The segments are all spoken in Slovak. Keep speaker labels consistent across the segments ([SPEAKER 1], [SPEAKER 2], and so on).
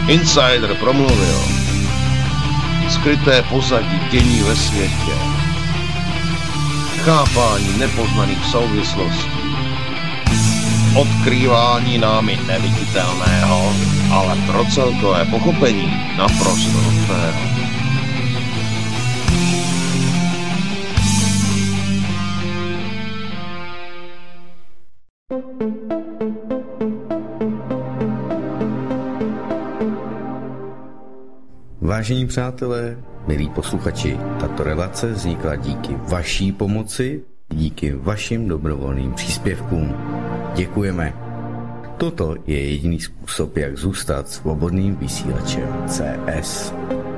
[SPEAKER 1] Insider promluvil. Skryté pozadí dění ve světě. Chápání nepoznaných souvislostí. Odkrývání námi neviditelného, ale pro celkové pochopení naprosto nutného.
[SPEAKER 2] Vážení přátelé, milí posluchači, tato relace vznikla díky vaší pomoci, díky vašim dobrovolným příspěvkům. Děkujeme. Toto je jediný způsob, jak zůstat svobodným vysílačem CS.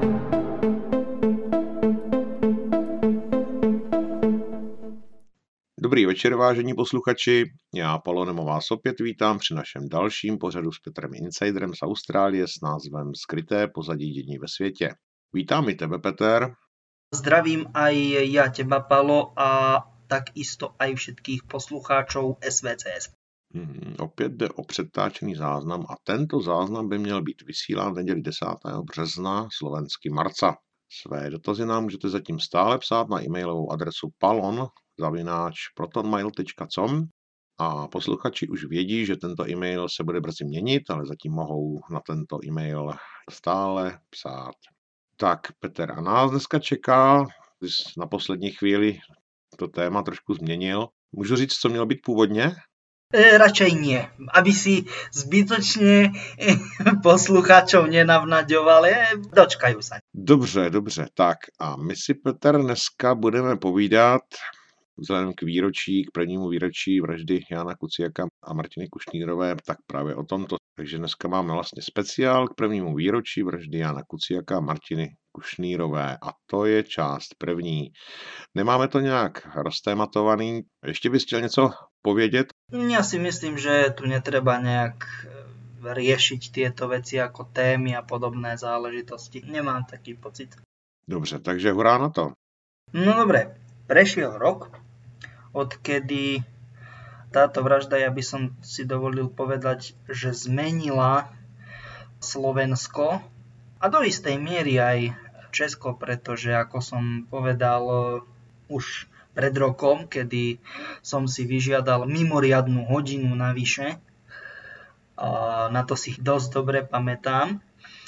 [SPEAKER 1] Dobrý večer, vážení posluchači. Já, Palonem, vás opět vítám při našem dalším pořadu s Petrem Insiderem z Austrálie s názvem Skryté pozadí dění ve světě. Vítám i tebe, Peter.
[SPEAKER 3] Zdravím aj ja teba, Palo, a takisto aj všetkých poslucháčov SVCS.
[SPEAKER 1] Opět jde o předtáčený záznam a tento záznam by měl být vysílán v neděli 10. března slovensky marca. Své dotazy nám můžete zatím stále psát na e-mailovou adresu palon@protonmail.com a posluchači už vědí, že tento e-mail se bude brzy měnit, ale zatím mohou na tento e-mail stále psát. Tak, Petr, a nás dneska čeká, když na poslední chvíli to téma trošku změnil. Můžu říct, co mělo být původně?
[SPEAKER 3] Radšej nie, aby si zbytočne poslucháčov nenavnaďovali, dočkajú sa.
[SPEAKER 1] Dobře, tak a my si, Petr, dneska budeme povídat vzhledem k prvnímu výročí vraždy Jána Kuciaka a Martiny Kušnírové, tak právě o tomto. Takže dneska máme vlastně speciál k prvnímu výročí vraždy Jána Kuciaka a Martiny Kušnírové a to je část první. Nemáme to nějak roztématovaný. Ještě bys chtěl něco povědět?
[SPEAKER 3] Ja si myslím, že tu netreba nejak riešiť tieto veci ako témy a podobné záležitosti. Nemám taký pocit.
[SPEAKER 1] Dobře, takže hurá na to.
[SPEAKER 3] No dobre, prešiel rok, odkedy táto vražda, ja by som si dovolil povedať, že zmenila Slovensko a do istej miery aj Česko, pretože ako som povedal už pred rokom, kedy som si vyžiadal mimoriadnu hodinu navyše, na to si dosť dobre pamätám,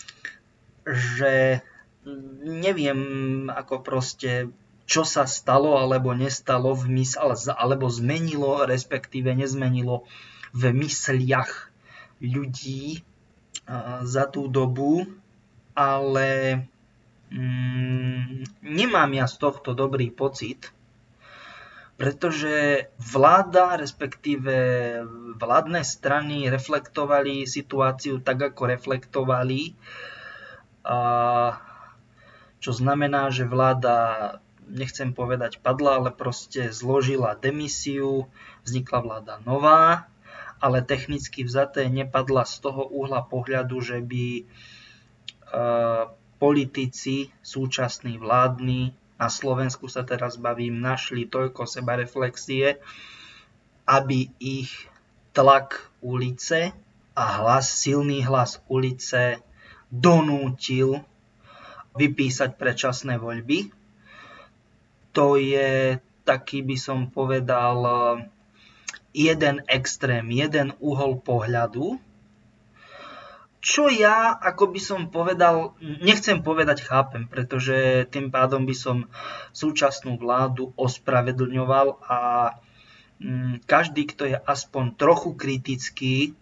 [SPEAKER 3] že neviem ako proste čo sa stalo alebo nestalo alebo zmenilo, respektíve nezmenilo v mysliach ľudí za tú dobu, ale nemám ja z tohto dobrý pocit, pretože vláda, respektíve vládne strany reflektovali situáciu tak, ako reflektovali, čo znamená, že vláda, nechcem povedať padla, ale proste zložila demisiu, vznikla vláda nová, ale technicky vzaté nepadla z toho uhla pohľadu, že by politici súčasní vládni, na Slovensku sa teraz bavím, našli toľko sebareflexie, aby ich tlak ulice a silný hlas ulice donútil vypísať predčasné voľby. To je taký, by som povedal, jeden extrém, jeden uhol pohľadu, čo ja, ako by som povedal, nechcem povedať chápem, pretože tým pádom by som súčasnú vládu ospravedlňoval a každý, kto je aspoň trochu kritický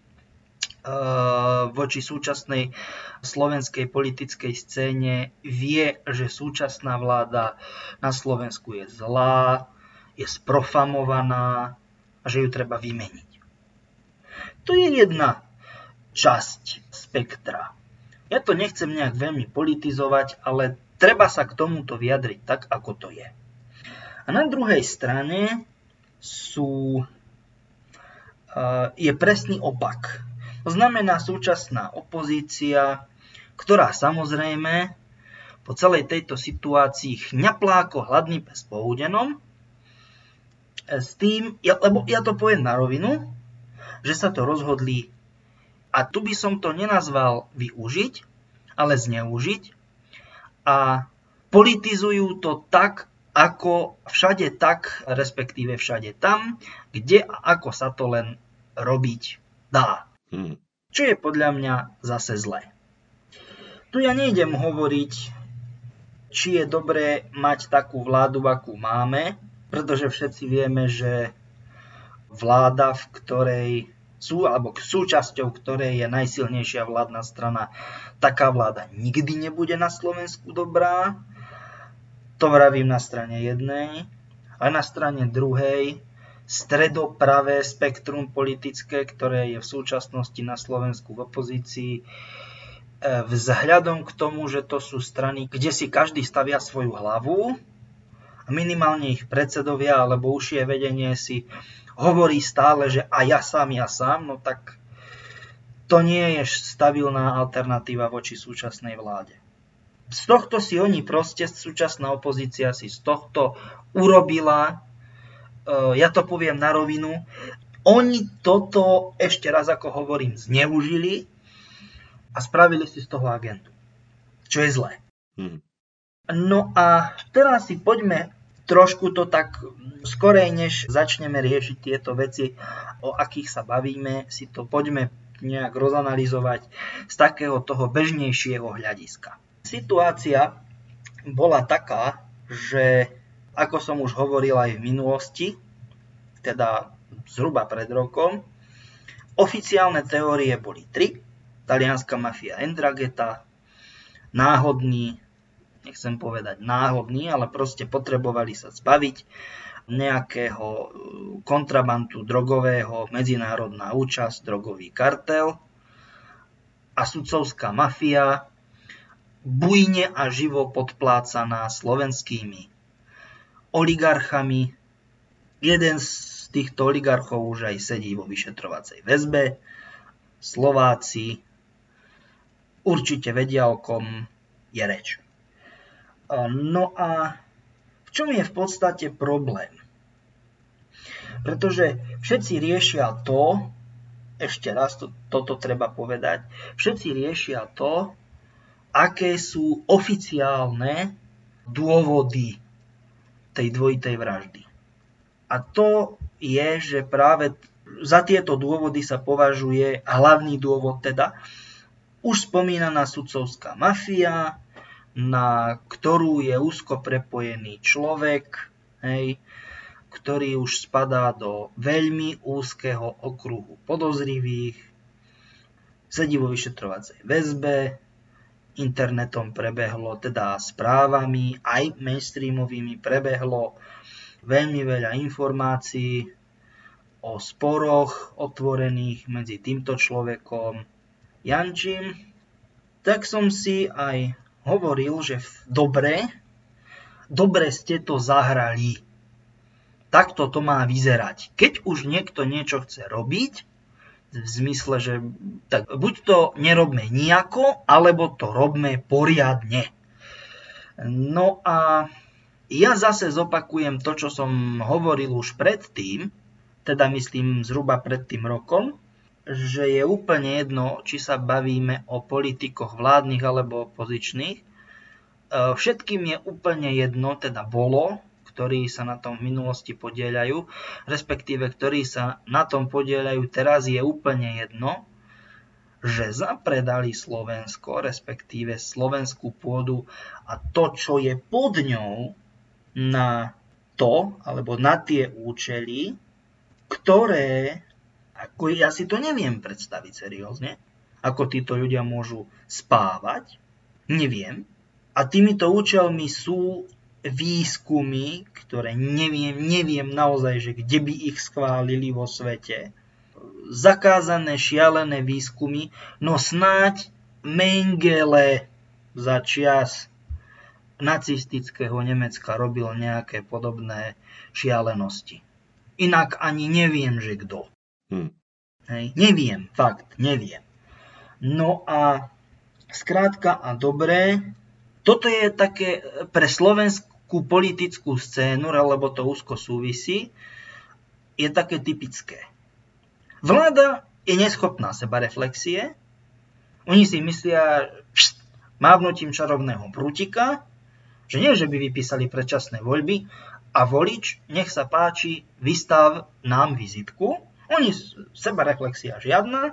[SPEAKER 3] voči súčasnej slovenskej politickej scéne, vie, že súčasná vláda na Slovensku je zlá, je sprofamovaná a že ju treba vymeniť. To je jedna časť spektra. Ja to nechcem nejak veľmi politizovať, ale treba sa k tomuto vyjadriť tak, ako to je. A na druhej strane je presný opak. To znamená súčasná opozícia, ktorá samozrejme po celej tejto situácii chňaplá ako hladný pes po údenom, s tým, lebo ja to poviem na rovinu, že sa to rozhodli, a tu by som to nenazval využiť, ale zneužiť a politizujú to tak, ako všade tak, respektíve všade tam, kde a ako sa to len robiť dá. Čo je podľa mňa zase zlé. Tu ja nejdem hovoriť, či je dobré mať takú vládu, akú máme, pretože všetci vieme, že vláda, v ktorej sú, alebo súčasťou ktorej je najsilnejšia vládna strana, taká vláda nikdy nebude na Slovensku dobrá. To vravím na strane jednej. A na strane druhej stredopravé spektrum politické, ktoré je v súčasnosti na Slovensku v opozícii, vzhľadom k tomu, že to sú strany, kde si každý stavia svoju hlavu, minimálne ich predsedovia alebo užšie vedenie si hovorí stále, že a ja sám, no tak to nie je stabilná alternatíva voči súčasnej vláde. Z tohto si oni proste, súčasná opozícia si z tohto urobila, ja to poviem na rovinu, oni toto, ešte raz ako hovorím, zneužili a spravili si z toho agendu, čo je zlé. No a teraz si poďme trošku to tak skorej, než začneme riešiť tieto veci, o akých sa bavíme, si to poďme nejak rozanalizovať z takého toho bežnejšieho hľadiska. Situácia bola taká, že ako som už hovoril aj v minulosti, teda zhruba pred rokom, oficiálne teórie boli 3. Talianska mafia 'Ndrangheta, náhodný, nechcem povedať náhodný, ale proste potrebovali sa zbaviť nejakého kontrabandu drogového, medzinárodná účasť, drogový kartel a sudcovská mafia, bujne a živo podplácaná slovenskými oligarchami. Jeden z týchto oligarchov už aj sedí vo vyšetrovacej väzbe. Slováci určite vedia, o kom je reč. No a v čom je v podstate problém? Pretože všetci riešia to, ešte raz toto treba povedať, všetci riešia to, aké sú oficiálne dôvody tej dvojitej vraždy. A to je, že práve za tieto dôvody sa považuje hlavný dôvod, teda už spomínaná sudcovská mafia, na ktorú je úzko prepojený človek, ktorý už spadá do veľmi úzkeho okruhu podozrivých, sedí vo vyšetrovacej väzbe, internetom prebehlo, teda správami, aj mainstreamovými prebehlo veľmi veľa informácií o sporoch otvorených medzi týmto človekom Jančím. Tak som si aj hovoril, že dobre ste to zahrali. Takto to má vyzerať. Keď už niekto niečo chce robiť, v zmysle, že tak buď to nerobme nijako, alebo to robme poriadne. No a ja zase zopakujem to, čo som hovoril už predtým, teda myslím zhruba pred tým rokom, že je úplne jedno, či sa bavíme o politikoch vládnych alebo opozičných. Všetkým je úplne jedno, teda bolo, ktorí sa na tom v minulosti podieľajú, respektíve ktorí sa na tom podieľajú teraz, je úplne jedno, že zapredali Slovensko, respektíve slovenskú pôdu a to, čo je pod ňou, na to, alebo na tie účely, ktoré, ako ja si to neviem predstaviť seriózne, ako títo ľudia môžu spávať, neviem. A týmito účelmi sú výskumy, ktoré neviem naozaj, že kde by ich schválili vo svete. Zakázané šialené výskumy, no snáď Mengele za čias nacistického Nemecka robil nejaké podobné šialenosti. Inak ani neviem, že kto. Neviem, fakt, neviem. No a skrátka a dobré, toto je také pre slovenskú politickú scénu, lebo to úzko súvisí, je také typické. Vláda je neschopná sebareflexie, oni si myslia, mávnutím čarovného prútika, že nie, že by vypísali predčasné voľby a volič, nech sa páči, vystav nám vizitku. Oni, sebareflexia žiadna,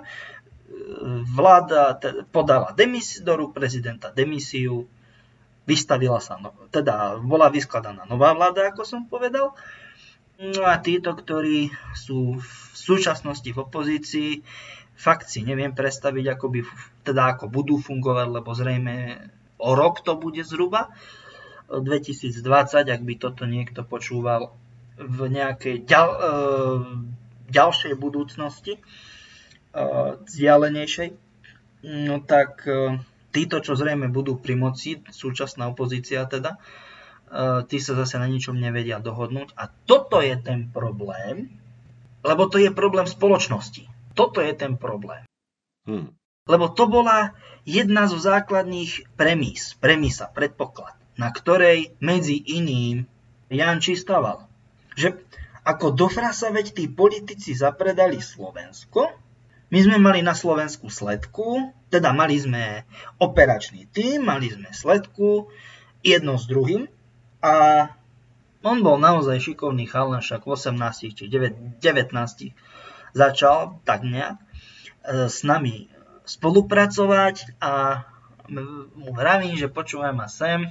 [SPEAKER 3] vláda podala do rúk prezidenta demisiu, vystavila sa, bola vyskladaná nová vláda, ako som povedal. No a títo, ktorí sú v súčasnosti v opozícii, fakt si neviem predstaviť, ako budú fungovať, lebo zrejme o rok to bude zhruba. 2020, ak by toto niekto počúval v nejakej ďalšej budúcnosti, vzdialenejšej, no tak títo, čo zrejme budú pri moci, súčasná opozícia teda, tí sa zase na ničom nevedia dohodnúť. A toto je ten problém, lebo to je problém spoločnosti. Toto je ten problém. Lebo to bola jedna zo základných predpoklad, na ktorej medzi iným Janči staval. Že ako do frasa, veď tí politici zapredali Slovensko. My sme mali na Slovensku sledku, teda mali sme operačný tím, mali sme sledku, jedno s druhým. A on bol naozaj šikovný chalan, však v 18 či 19 začal tak nejak s nami spolupracovať a mu vravím, že počúvaj ma sem,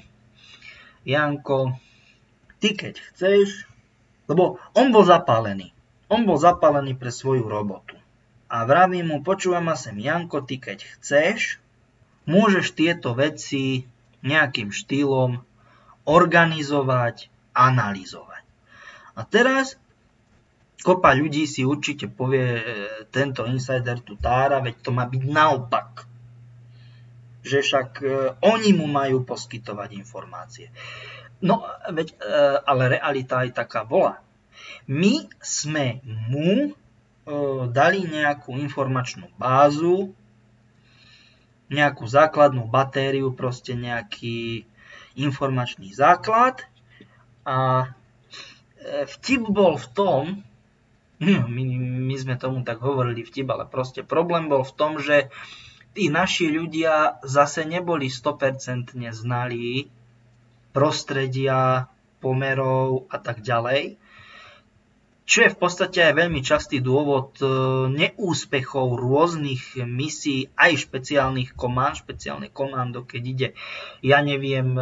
[SPEAKER 3] Janko, ty keď chceš, lebo on bol zapálený. On bol zapálený pre svoju robotu. A vravím mu, počúvaj ma sem, Janko, ty keď chceš, môžeš tieto veci nejakým štýlom organizovať, analyzovať. A teraz kopa ľudí si určite povie, tento insider tu tára, veď to má byť naopak. Že však oni mu majú poskytovať informácie. No, veď, ale realita aj taká bola. My sme mu dali nejakú informačnú bázu, nejakú základnú batériu, proste nejaký informačný základ a vtip bol v tom, my sme tomu tak hovorili vtip, ale proste problém bol v tom, že tí naši ľudia zase neboli 100% znalí prostredia, pomerov a tak ďalej. Čo je v podstate aj veľmi častý dôvod neúspechov rôznych misií, aj špeciálne komando, keď ide, ja neviem,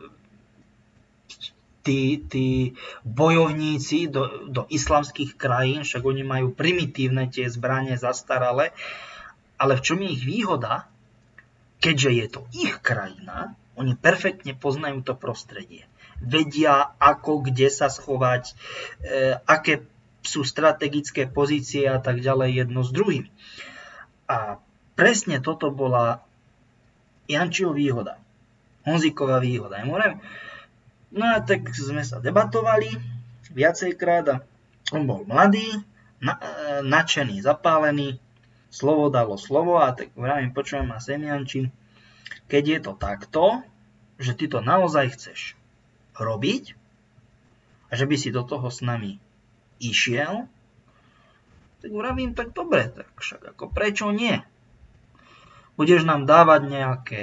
[SPEAKER 3] tí bojovníci do islamských krajín, však oni majú primitívne tie zbrane zastaralé, ale v čom je ich výhoda? Keďže je to ich krajina, oni perfektne poznajú to prostredie. Vedia, ako, kde sa schovať, aké sú strategické pozície a tak ďalej jedno s druhým. A presne toto bola Jančiho výhoda. Honzíková výhoda. No a tak sme sa debatovali viacejkrát a on bol mladý, nadšený, zapálený, slovo dalo slovo a tak vravím, počujem ma sem, Janči, keď je to takto, že ty to naozaj chceš robiť a že by si do toho s nami išiel, tak vravím, tak dobre, tak však ako prečo nie? Budeš nám dávať nejaké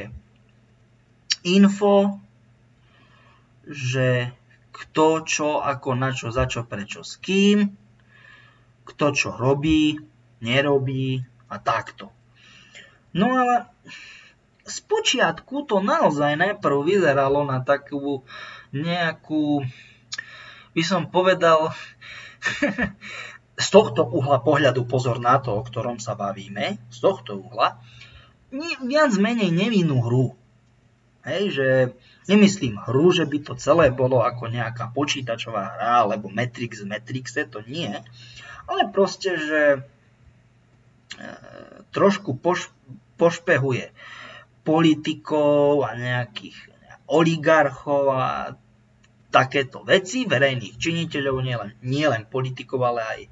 [SPEAKER 3] info, že kto čo, ako, na čo, za čo, prečo, s kým, kto čo robí, nerobí a takto. No ale spočiatku to naozaj najprv vyzeralo na takú nejakú, by som povedal, z tohto uhla pohľadu, pozor na to, o ktorom sa bavíme, z tohto uhla, viac menej nevinnú hru. Hej, že nemyslím hru, že by to celé bolo ako nejaká počítačová hra, alebo Matrix v Matrixe, to nie. Ale proste, že trošku pošpehuje politikov a nejakých oligarchov a takéto veci, verejných činiteľov, nielen politikov, ale aj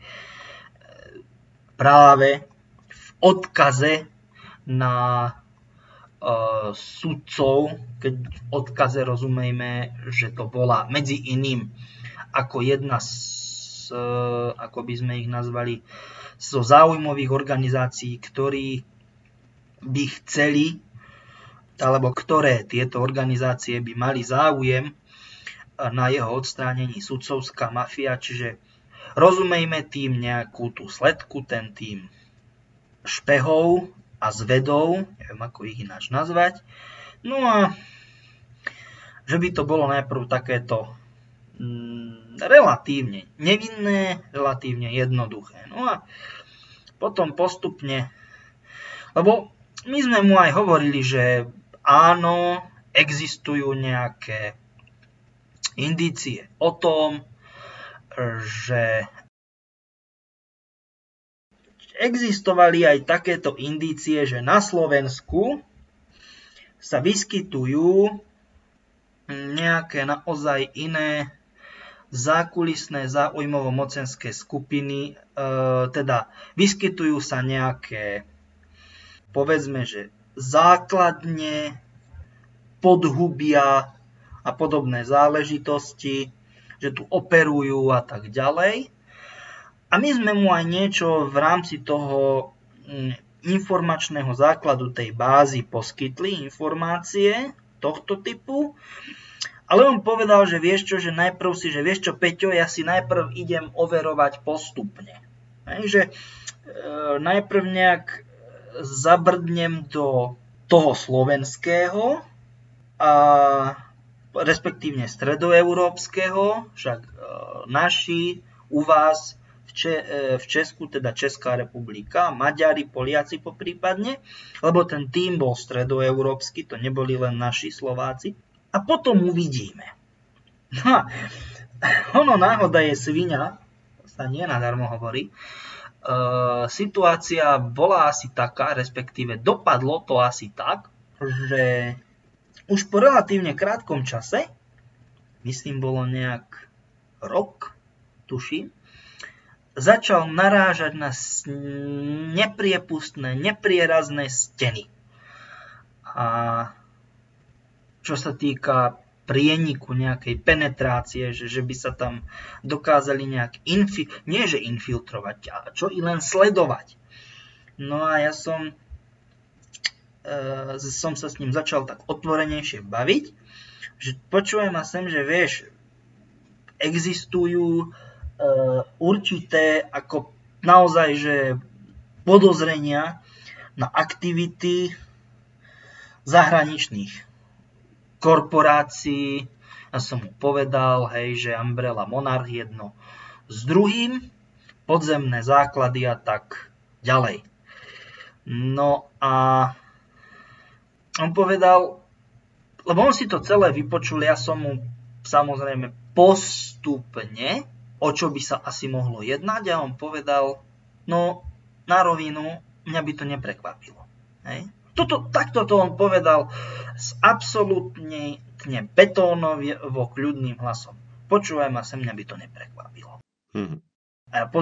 [SPEAKER 3] práve v odkaze na sudcov, keď v odkaze rozumejme, že to bola medzi iným ako jedna z, ako by sme ich nazvali, zo záujmových organizácií, ktorí by chceli alebo ktoré tieto organizácie by mali záujem na jeho odstránení, sudcovská mafia, čiže rozumejme tým nejakú tú sledku, ten tým špehov a zvedov, neviem ako ich ináč nazvať. No a že by to bolo najprv takéto relatívne nevinné, relatívne jednoduché. No a potom postupne, lebo my sme mu aj hovorili, že áno, existujú nejaké indície o tom, že existovali aj takéto indície, že na Slovensku sa vyskytujú nejaké naozaj iné zákulisné záujmovo-mocenské skupiny, teda vyskytujú sa nejaké, povedzme, že základne, podhubia a podobné záležitosti, že tu operujú a tak ďalej. A my sme mu aj niečo v rámci toho informačného základu tej bázy poskytli, informácie tohto typu. Ale on povedal, že vieš čo, že najprv si, že vieš čo, Peťo, ja si najprv idem overovať postupne. Že najprv nejak zabrdnem do toho slovenského a respektívne stredoeurópskeho, však naši u vás v Česku, teda Česká republika, Maďari, Poliaci poprípadne, lebo ten tým bol stredoeurópsky, to neboli len naši Slováci. A potom uvidíme. No, ono náhoda je sviňa, sa nie nadarmo hovorí. Situácia bola asi taká, respektíve dopadlo to asi tak, že už po relatívne krátkom čase, myslím bolo nejak rok, tuším, začal narážať na nepriepustné, neprierazné steny. A čo sa týka prieniku nejakej penetrácie, že by sa tam dokázali nejak nie že infiltrovať, ale čo i len sledovať. No a ja som sa s ním začal tak otvorenejšie baviť, že počujem a sem, že vieš, existujú určité ako naozaj, že podozrenia na aktivity zahraničných korporácií. Ja som mu povedal, hej, že Umbrella Monarch jedno s druhým, podzemné základy a tak ďalej. No a on povedal, lebo on si to celé vypočul, ja som mu samozrejme postupne, o čo by sa asi mohlo jednať, a on povedal, no na rovinu, mňa by to neprekvapilo. Hej. Takto to on povedal s absolútne betónovo kľudným hlasom. Počúvaj ma sem, mňa by to neprekvapilo. A ja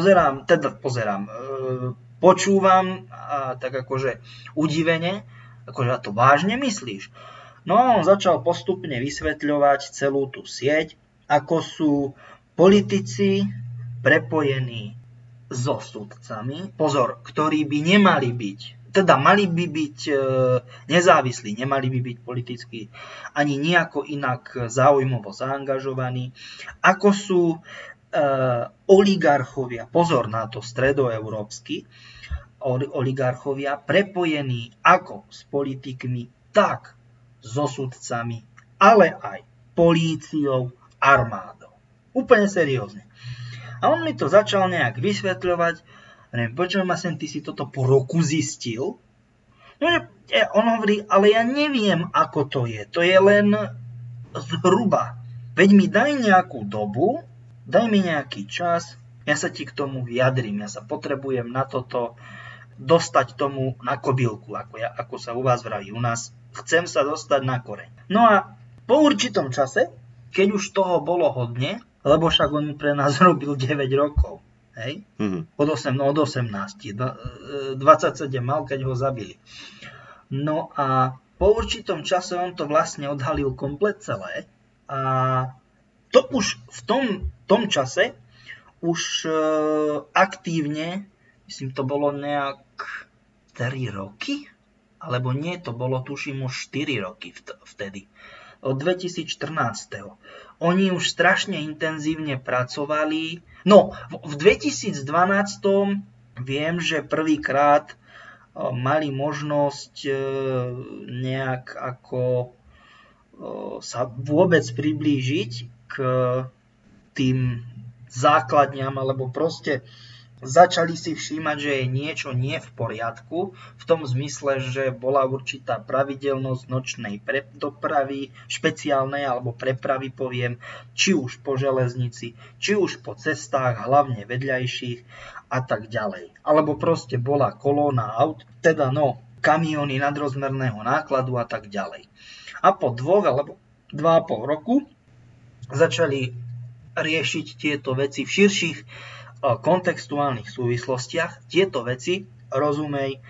[SPEAKER 3] počúvam a tak akože udivene, akože a to vážne myslíš? No a on začal postupne vysvetľovať celú tú sieť, ako sú politici prepojení so sudcami, pozor, ktorí by nemali byť, teda mali by byť nezávislí, nemali by byť politicky ani nejako inak záujmovo zaangažovaní, ako sú oligarchovia, pozor na to, stredoeurópsky oligarchovia, prepojení ako s politikmi, tak so sudcami, ale aj políciou, armádou. Úplne seriózne. A on mi to začal nejak vysvetľovať. Počujem ma sem, ty si toto po roku zistil? No, on hovorí, ale ja neviem, ako to je. To je len zhruba. Veď mi daj nejakú dobu, daj mi nejaký čas, ja sa ti k tomu vyjadrím. Ja sa potrebujem na toto dostať tomu na kobylku, ako sa u vás vraví. U nás chcem sa dostať na koreň. No a po určitom čase, keď už toho bolo hodne, lebo však on pre nás robil 9 rokov, hej? Od 18, 27 mal, keď ho zabili. No a po určitom čase on to vlastne odhalil komplet celé a to už v tom čase už aktívne, myslím to bolo nejak 3 roky, alebo nie, to bolo tuším už 4 roky vtedy, od 2014. Oni už strašne intenzívne pracovali. No, v 2012 viem, že prvýkrát mali možnosť nejak ako sa vôbec priblížiť k tým základňam, alebo proste začali si všímať, že je niečo nie v poriadku, v tom zmysle, že bola určitá pravidelnosť nočnej dopravy, špeciálnej alebo prepravy, poviem, či už po železnici, či už po cestách, hlavne vedľajších a tak ďalej. Alebo proste bola kolóna aut, teda kamióny nadrozmerného nákladu a tak ďalej. A po 2 alebo 2,5 roku začali riešiť tieto veci v širších kontextuálnych súvislostiach. Tieto veci, rozumej,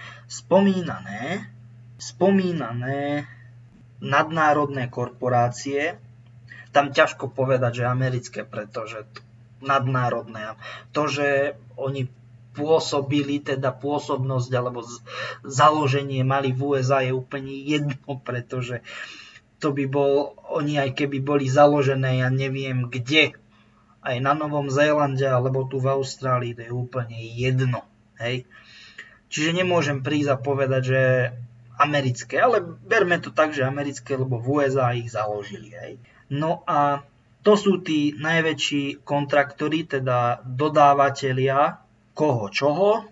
[SPEAKER 3] spomínané nadnárodné korporácie, tam ťažko povedať, že americké, pretože nadnárodné, to, že oni pôsobili, teda pôsobnosť alebo založenie mali v USA je úplne jedno, pretože to by oni aj keby boli založené, ja neviem kde, aj na Novom Zélande alebo tu v Austrálii, to je úplne jedno. Hej. Čiže nemôžem prísť a povedať, že americké, ale berme to tak, že americké, lebo v USA ich založili. Hej. No a to sú tí najväčší kontraktori, teda dodávateľia koho čoho,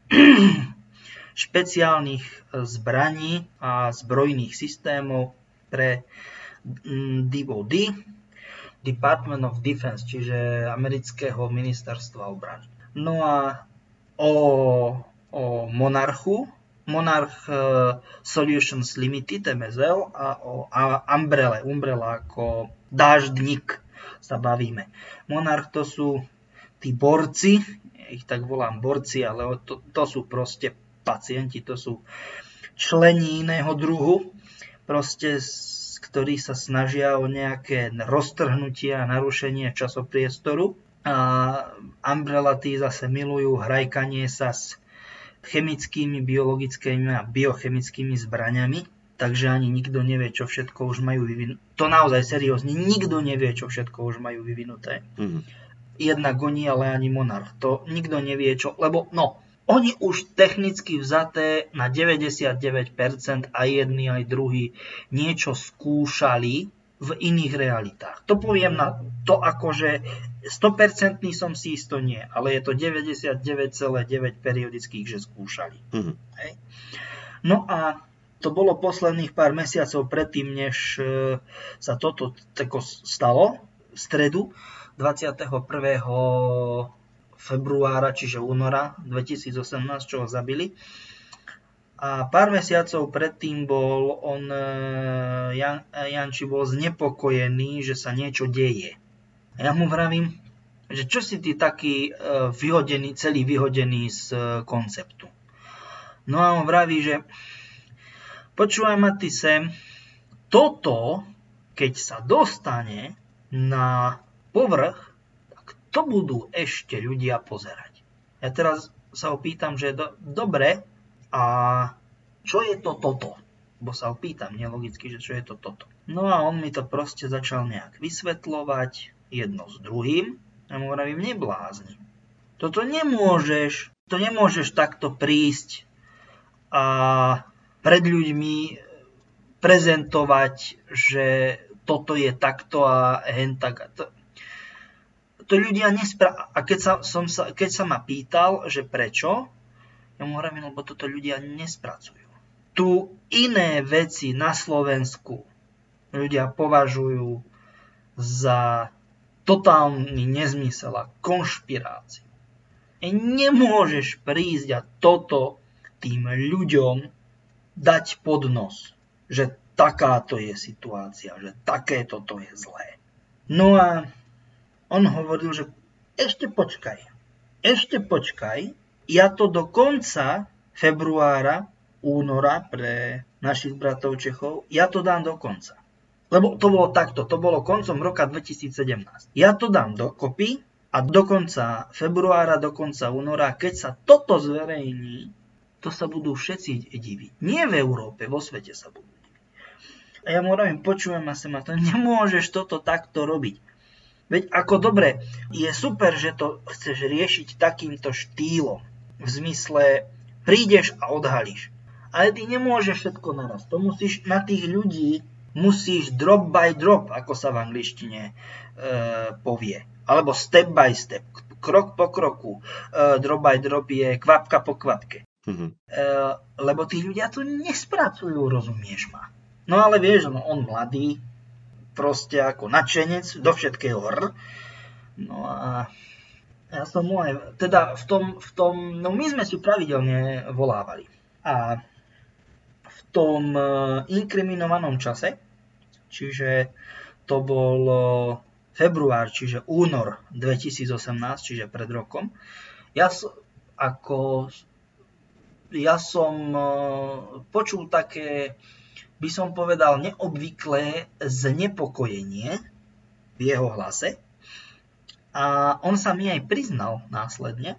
[SPEAKER 3] špeciálnych zbraní a zbrojných systémov pre DoD, Department of Defense, čiže amerického ministerstva obrany. No a o Monarch Solutions Limited, MSL, a o Umbrella ako dáždnik sa bavíme. Monarch to sú tí borci, ja ich tak volám borci, ale to sú proste pacienti, to sú členi iného druhu, proste ktorí sa snažia o nejaké roztrhnutie a narušenie časopriestoru. A Umbrella tí zase milujú hrajkanie sa s chemickými, biologickými a biochemickými zbraňami. Takže ani nikto nevie, čo všetko už majú vyvinuté. To naozaj seriózne, nikto nevie, čo všetko už majú vyvinuté. Jednak oni, ale ani Monarch. To nikto nevie, čo, lebo oni už technicky vzaté na 99% aj jedni, aj druhí niečo skúšali v iných realitách. To poviem na to akože 100% som si isto nie, ale je to 99,9 periodických, že skúšali. Hej. No a to bolo posledných pár mesiacov predtým, než sa toto stalo, v stredu 21. februára, čiže února 2018, čo ho zabili. A pár mesiacov predtým bol Janči bol znepokojený, že sa niečo deje. A ja mu vravím, že čo si ty taký celý vyhodený z konceptu. No a on vraví, že počúvaj ma ty sem, toto, keď sa dostane na povrch, to budú ešte ľudia pozerať. Ja teraz sa opýtam, že dobre, a čo je to toto? Bo sa opýtam nelogicky, že čo je to toto. No a on mi to proste začal nejak vysvetľovať jedno s druhým. A mu vravím, neblázni. To nemôžeš takto prísť a pred ľuďmi prezentovať, že toto je takto a hen tak. To ľudia A keď sa ma pýtal, že prečo, ja mu hovorím, lebo toto ľudia nespracujú. Tu iné veci na Slovensku ľudia považujú za totálny nezmysel a konšpiráciu. Nemôžeš prísť a toto tým ľuďom dať pod nos, že takáto je situácia, že takéto to je zlé. No a on hovoril, že ešte počkaj, ja to do konca februára, února pre našich bratov Čechov, ja to dám do konca. Lebo to bolo takto, to bolo koncom roka 2017. Ja to dám dokopy a do konca februára, do konca února, keď sa toto zverejní, to sa budú všetci diviť. Nie v Európe, vo svete sa budú diviť. A ja mu hovorím, počujem ma sem, to nemôžeš toto takto robiť. Veď ako dobre, je super, že to chceš riešiť takýmto štýlom. V zmysle, prídeš a odhalíš. Ale ty nemôžeš všetko naraz. To musíš na tých ľudí, musíš drop by drop, ako sa v angličtine povie. Alebo step by step, krok po kroku. Drop by drop je kvapka po kvapke. Lebo tí ľudia to nespracujú, rozumieš ma. No ale vieš, on mladý, proste ako nadšenec, do všetkého No a ja som mu aj, teda v tom, no my sme si pravidelne volávali. A v tom inkriminovanom čase, čiže to bol február, čiže únor 2018, čiže pred rokom, ja som počul také, by som povedal, neobvyklé znepokojenie v jeho hlase. A on sa mi aj priznal následne,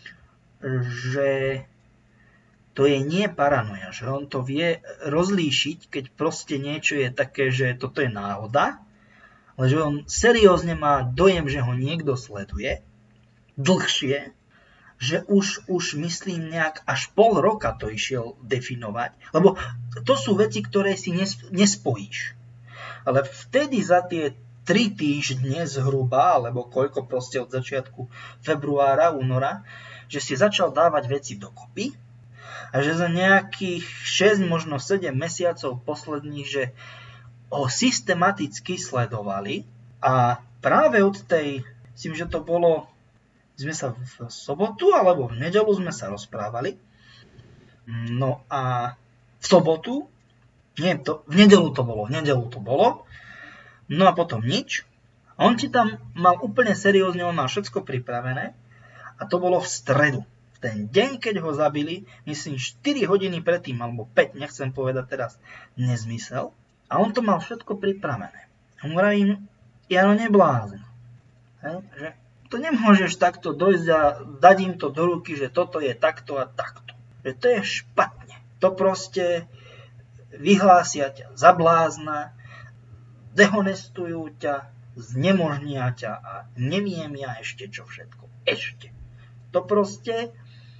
[SPEAKER 3] že to je nie paranoja, že on to vie rozlíšiť, keď proste niečo je také, že toto je náhoda, ale že on seriózne má dojem, že ho niekto sleduje dlhšie, že už myslím nejak až pol roka to išiel definovať, lebo to sú veci, ktoré si nespojíš. Ale vtedy za tie 3 týždne zhruba, alebo koľko proste od začiatku februára, února, že si začal dávať veci dokopy a že za nejakých 6, možno 7 mesiacov posledných, že ho systematicky sledovali a práve od tej, myslím, že to bolo, sme sa v sobotu alebo v nedeľu sme sa rozprávali. No a v sobotu, v nedeľu to bolo. No a potom nič. A on ti tam mal úplne seriózne, on mal všetko pripravené. A to bolo v stredu. V ten deň, keď ho zabili, myslím 4 hodiny predtým, alebo 5, nechcem povedať teraz nezmysel. A on to mal všetko pripravené. A mu vravím, Jano, neblázn. Že to nemôžeš takto dojsť a dať im to do ruky, že toto je takto a takto. Že to je špatne. To proste vyhlásia ťa za blázna, dehonestujú ťa, znemožnia ťa a neviem ja ešte čo všetko. Ešte. To proste,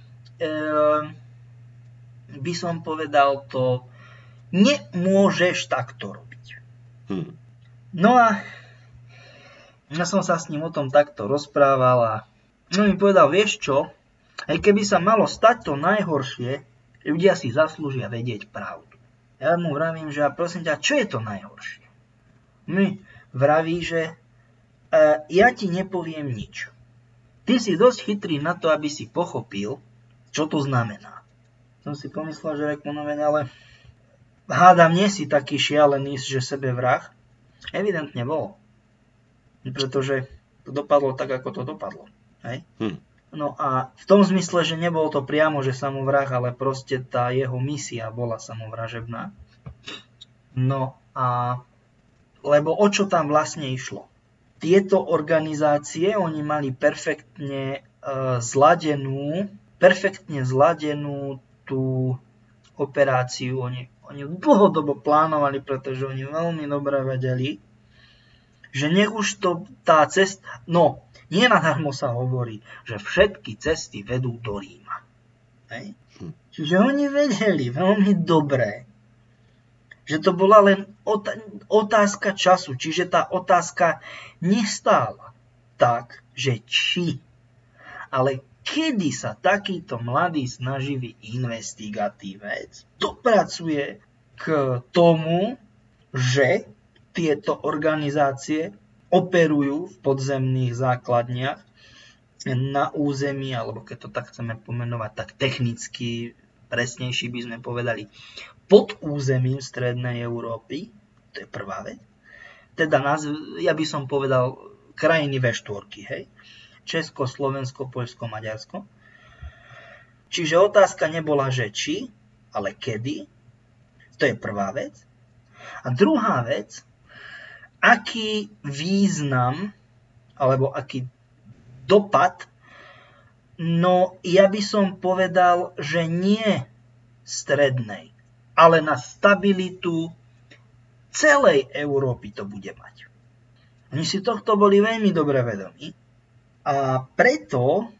[SPEAKER 3] by som povedal, to nemôžeš takto robiť. No a ja som sa s ním o tom takto rozprával a on mi povedal, vieš čo, aj keby sa malo stať to najhoršie, ľudia si zaslúžia vedieť pravdu. Ja mu vravím, že prosím ťa, čo je to najhoršie? Mi vraví, že ja ti nepoviem nič. Ty si dosť chytrý na to, aby si pochopil, čo to znamená. Som si pomyslel, že ale hádam, nie si taký šialený, že sebevrah. Evidentne bol. Pretože to dopadlo tak, ako to dopadlo. Hej? No a v tom zmysle, že nebol to priamo, že samovrah, ale proste tá jeho misia bola samovražebná. No a lebo o čo tam vlastne išlo? Tieto organizácie, oni mali perfektne zladenú tú operáciu. Oni dlhodobo plánovali, pretože oni veľmi dobre vedeli, že nech už to tá cesta, no, nie nadarmo sa hovorí, že všetky cesty vedú do Ríma. Hej? Čiže oni vedeli veľmi dobre, že to bola len otázka času, čiže tá otázka nestála tak, že či, ale kedy sa takýto mladý snaživý investigatívec dopracuje k tomu, že tieto organizácie operujú v podzemných základniach na území, alebo keď to tak chceme pomenovať, tak technicky presnejší by sme povedali, pod územím strednej Európy, to je prvá vec. Teda ja by som povedal krajiny V4, hej? Česko, Slovensko, Poľsko, Maďarsko. Čiže otázka nebola, že či, ale kedy. To je prvá vec. A druhá vec, aký význam alebo aký dopad No, ja by som povedal, že nie strednej, ale na stabilitu celej Európy to bude mať. Oni si tohto boli veľmi dobre vedomí a preto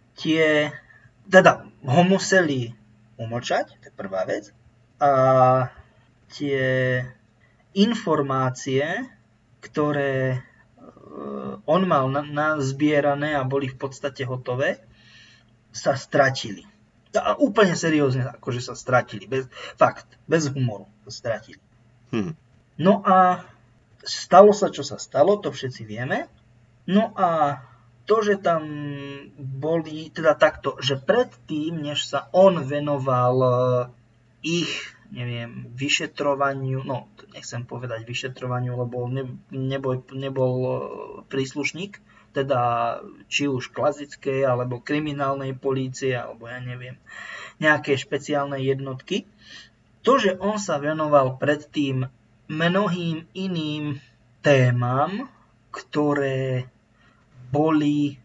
[SPEAKER 3] ho museli umlčať, to je prvá vec, a tie informácie, ktoré on mal nazbierané a boli v podstate hotové, sa stratili. A úplne seriózne, akože sa stratili. Bez humoru sa stratili. No a stalo sa, čo sa stalo, to všetci vieme. No a to, že tam boli, teda takto, že predtým, než sa on venoval ich, vyšetrovaniu, no nechcem povedať vyšetrovaniu, lebo nebol príslušník, teda či už klasickej, alebo kriminálnej polície, alebo nejaké špeciálne jednotky. To, že on sa venoval predtým mnohým iným témam, ktoré boli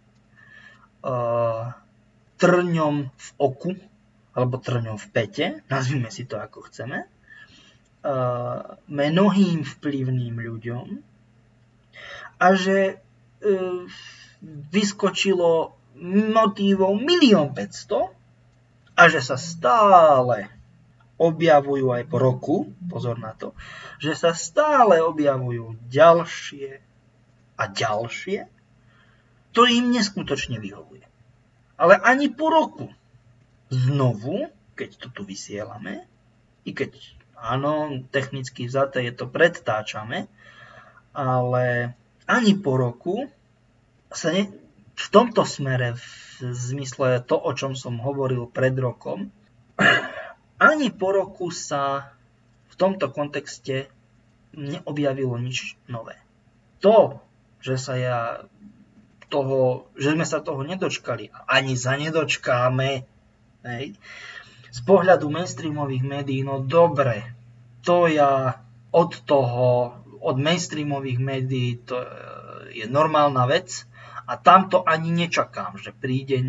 [SPEAKER 3] trňom v oku, alebo trňom v pete, nazvime si to ako chceme, mnohým vplyvným ľuďom, a že vyskočilo motívov 1 500 000 a že sa stále objavujú aj po roku, pozor na to, že sa stále objavujú ďalšie a ďalšie, to im neskutočne vyhovuje. Ale ani po roku znovu, keď to tu vysielame, i keď áno, technicky vzaté je to predtáčame, ale ani po roku sa v tomto smere, v zmysle to, o čom som hovoril pred rokom, ani po roku sa v tomto kontexte neobjavilo nič nové. To, že sme sa toho nedočkali a ani sa nedočkáme, z pohľadu mainstreamových médií, no dobre, to ja od mainstreamových médií to je normálna vec a tamto ani nečakám, že príde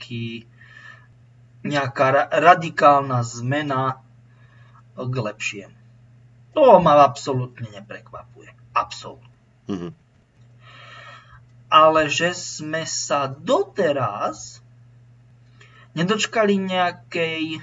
[SPEAKER 3] nejaká radikálna zmena k lepšiemu. To ma absolútne neprekvapuje. Absolútne. Mm-hmm. Ale že sme sa doteraz nedočkali nejakej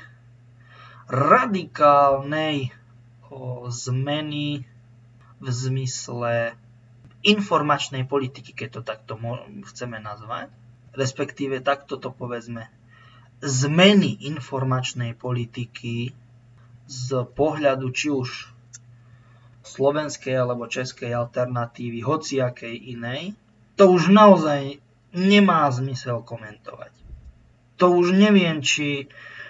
[SPEAKER 3] radikálnej zmeny v zmysle informačnej politiky, keď to takto chceme nazvať, respektíve takto to povedzme, zmeny informačnej politiky z pohľadu či už slovenskej alebo českej alternatívy, hociakej inej, to už naozaj nemá zmysel komentovať. To už neviem, či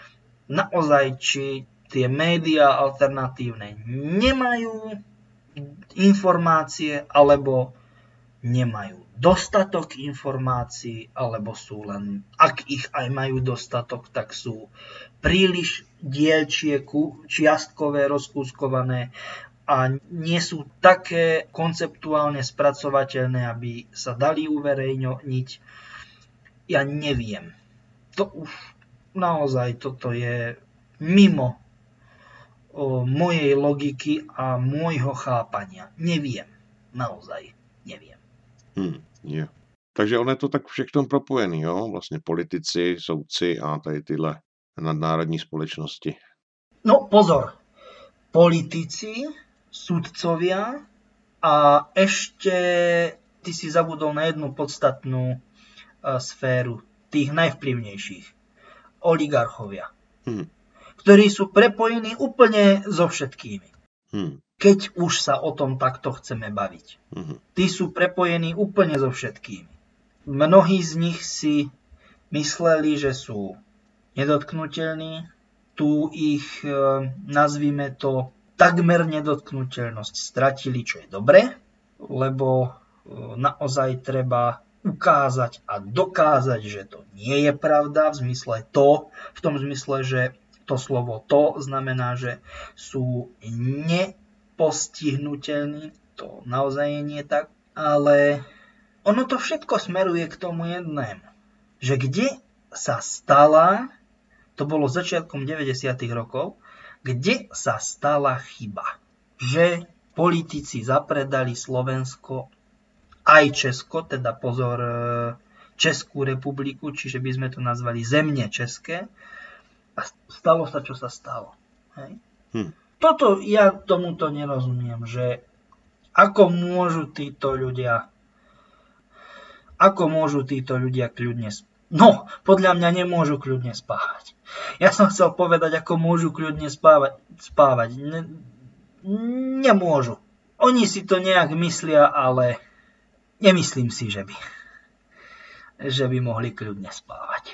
[SPEAKER 3] tie médiá alternatívne nemajú informácie, alebo nemajú dostatok informácií, alebo sú len, ak ich aj majú dostatok, tak sú príliš dielčie, čiastkové, rozkúskované a nie sú také konceptuálne spracovateľné, aby sa dali uverejniť. Ja neviem. To už naozaj toto je mimo mojej logiky a môjho chápania. Neviem. Naozaj neviem.
[SPEAKER 1] Yeah. Takže on je to tak všechno propojený, jo? Vlastně politici, soudci a tady tyhle nadnárodní společnosti.
[SPEAKER 3] No pozor. Politici, sudcovia a ešte ty si zabudol na jednu podstatnú sféru tých najvplyvnejších. Oligarchovia. Ktorí sú prepojení úplne so všetkými. Keď už sa o tom takto chceme baviť. Tí sú prepojení úplne so všetkými. Mnohí z nich si mysleli, že sú nedotknuteľní. Tu ich, nazvime to, takmer nedotknuteľnosť stratili, čo je dobre, lebo naozaj treba ukázať a dokázať, že to nie je pravda, v tom zmysle, že to slovo to znamená, že sú nepostihnuteľní, to naozaj nie je tak, ale ono to všetko smeruje k tomu jednému, že kde sa stala, to bolo začiatkom 90. rokov, kde sa stala chyba, že politici zapredali Slovensko aj Česko, teda pozor, Českú republiku, čiže by sme to nazvali zemne české. A stalo sa, čo sa stalo. Hej? Toto ja tomuto nerozumiem, že ako môžu títo ľudia kľudne no, podľa mňa nemôžu kľudne spávať. Ja som chcel povedať, ako môžu kľudne spávať. Nemôžu. Oni si to nejak myslia, ale nemyslím si, že by mohli kľudne spávať.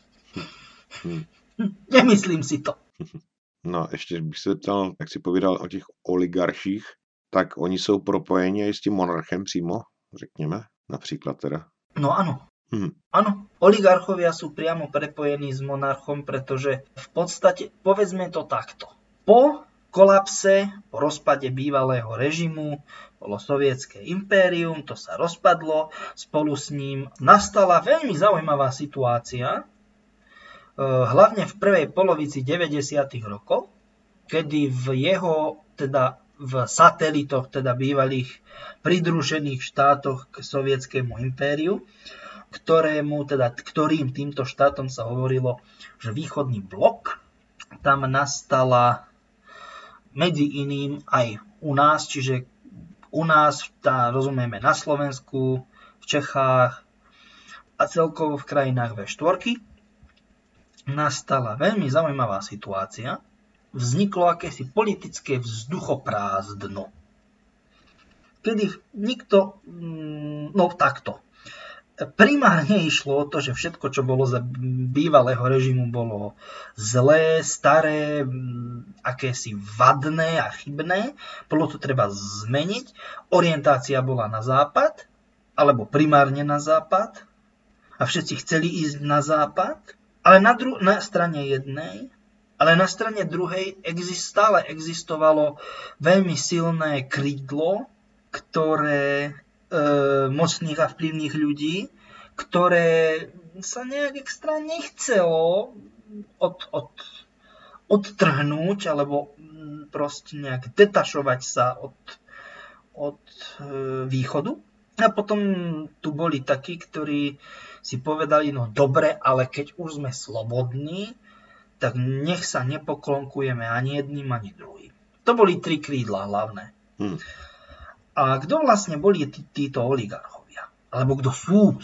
[SPEAKER 3] Nemyslím si to.
[SPEAKER 1] No, ještě bych se ptal, jak si povídal o těch oligarchích, tak oni jsou propojeni i s tím monarchem přímo, řekněme, například teda.
[SPEAKER 3] No áno. Áno, oligarchovia sú priamo prepojení s monarchom, pretože v podstate, povedzme to takto, po kolapse, po rozpade bývalého režimu, bolo sovietské impérium, to sa rozpadlo, spolu s ním nastala veľmi zaujímavá situácia, hlavne v prvej polovici 90. rokov, kedy v satelitoch, teda bývalých pridružených štátoch k sovietskému impériu, ktorým týmto štátom sa hovorilo, že východný blok, tam nastala medzi iným aj u nás, čiže u nás, rozumieme na Slovensku, v Čechách a celkovo v krajinách V4, nastala veľmi zaujímavá situácia. Vzniklo akési politické vzduchoprázdno. Kedy nikto, takto. Primárne išlo o to, že všetko, čo bolo za bývalého režimu, bolo zlé, staré, akési vadné a chybné. Bolo to treba zmeniť. Orientácia bola na západ, alebo primárne na západ. A všetci chceli ísť na západ. Ale na strane jednej, ale na strane druhej stále existovalo veľmi silné krídlo, ktoré mocných a vplyvných ľudí, ktoré sa nejak extra nechcelo odtrhnúť alebo proste nejak detašovať sa od východu. A potom tu boli takí, ktorí si povedali, no dobre, ale keď už sme slobodní, tak nech sa nepoklonkujeme ani jedným, ani druhým. To boli 3 krídla hlavné. A kto vlastne boli títo oligarchovia? Alebo kto sú,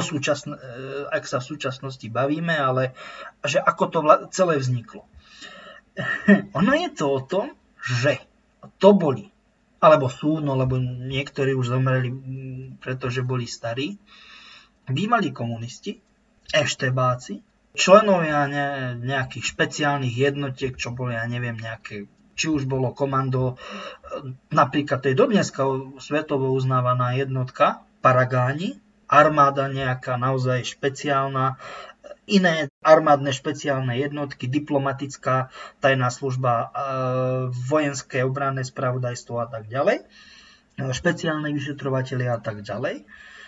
[SPEAKER 3] ak sa v súčasnosti bavíme, ale že ako to celé vzniklo. Ono je to o tom, že to boli, alebo sú, no lebo niektorí už zomreli, pretože boli starí, bývalí komunisti, eštebáci, členovia nejakých špeciálnych jednotiek, čo boli, ja neviem, nejaké, či už bolo komando, napríklad to je dodneska svetovo uznávaná jednotka, Paragáni, armáda nejaká naozaj špeciálna, iné armádne špeciálne jednotky, diplomatická tajná služba, vojenské obranné spravodajstvo a tak ďalej, špeciálne vyšetrovatelia a tak ďalej.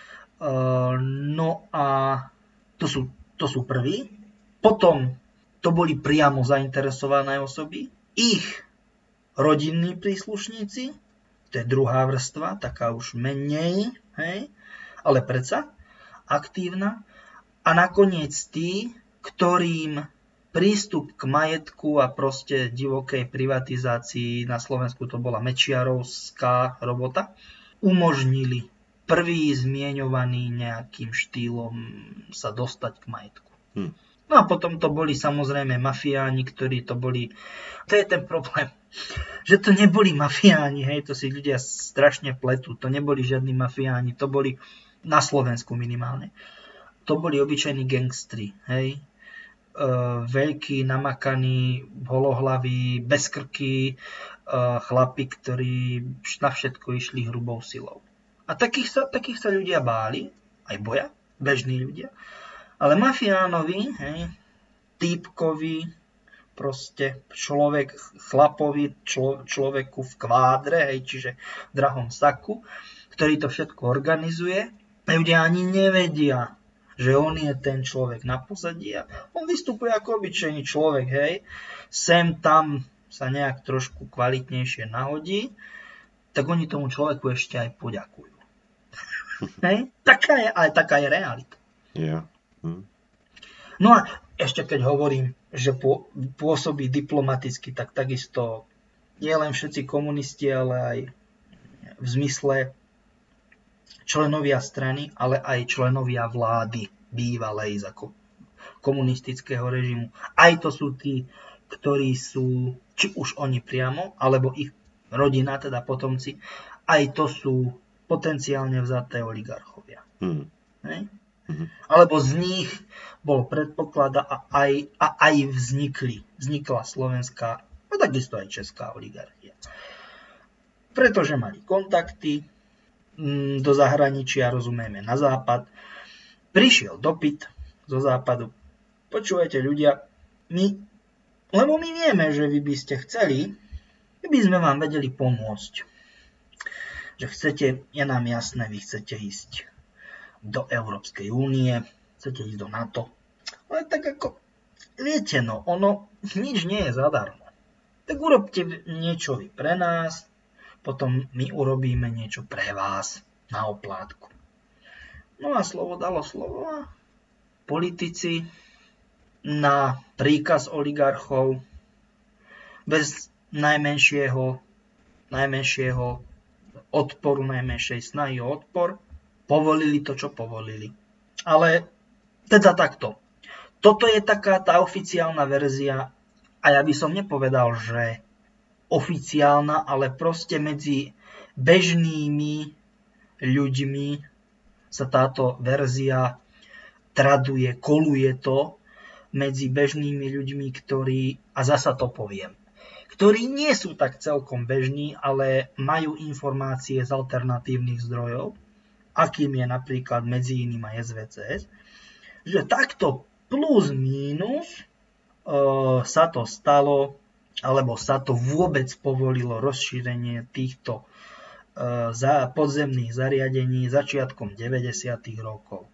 [SPEAKER 3] No a to sú prví. Potom to boli priamo zainteresované osoby, ich rodinní príslušníci, to je druhá vrstva, taká už menej, hej, ale predsa aktívna. A nakoniec tí, ktorým prístup k majetku a proste divokej privatizácii, na Slovensku to bola mečiarovská robota, umožnili prvý zmieňovaný nejakým štýlom sa dostať k majetku. No a potom to boli samozrejme mafiáni, ktorí to boli... To je ten problém, že to neboli mafiáni, hej, to si ľudia strašne pletú. To neboli žiadni mafiáni, to boli na Slovensku minimálne. To boli obyčajní gangstri, hej. Veľkí, namakaní, holohlaví, bez krky, chlapi, ktorí na všetko išli hrubou silou. A takých sa ľudia báli, aj boja, bežní ľudia. Ale mafiánovi, hej, týpkovi, proste človeku v kvádre, hej, čiže v drahom saku, ktorý to všetko organizuje, ľudia ani nevedia, že on je ten človek na pozadí a on vystupuje ako obyčajný človek, hej. Sem tam sa nejak trošku kvalitnejšie nahodí, tak oni tomu človeku ešte aj poďakujú. Hej? Taká je realita.
[SPEAKER 1] Yeah.
[SPEAKER 3] No a ešte keď hovorím, že pôsobí diplomaticky, tak takisto nie len všetci komunisti, ale aj v zmysle členovia strany, ale aj členovia vlády bývalej za komunistického režimu. Aj to sú tí, ktorí sú, či už oni priamo, alebo ich rodina, teda potomci, aj to sú potenciálne vzaté oligarchovia. Alebo z nich bol predpoklad a aj vznikla slovenská, a takisto aj česká oligarchia. Pretože mali kontakty do zahraničia, rozumieme, na západ. Prišiel dopyt zo západu. Počúvajte ľudia, lebo my vieme, že vy by ste chceli, my by sme vám vedeli pomôcť. Že chcete, je nám jasné, vy chcete ísť do Európskej únie, chcete ísť do NATO. Ale tak ako, viete no, ono nič nie je zadarmo. Tak urobte niečo vy pre nás, potom my urobíme niečo pre vás na oplátku. No a slovo dalo slovo a politici na príkaz oligarchov bez najmenšieho odporu, najmenšej snahy o odpor, povolili to, čo povolili. Ale teda takto. Toto je taká tá oficiálna verzia a ja by som nepovedal, že oficiálna, ale proste medzi bežnými ľuďmi sa táto verzia traduje, koluje to medzi bežnými ľuďmi, ktorí, a zasa to poviem, ktorí nie sú tak celkom bežní, ale majú informácie z alternatívnych zdrojov, akým je napríklad medzi iným aj SVCS, že takto plus mínus sa to stalo, alebo sa to vôbec povolilo rozšírenie týchto podzemných zariadení začiatkom 90. rokov.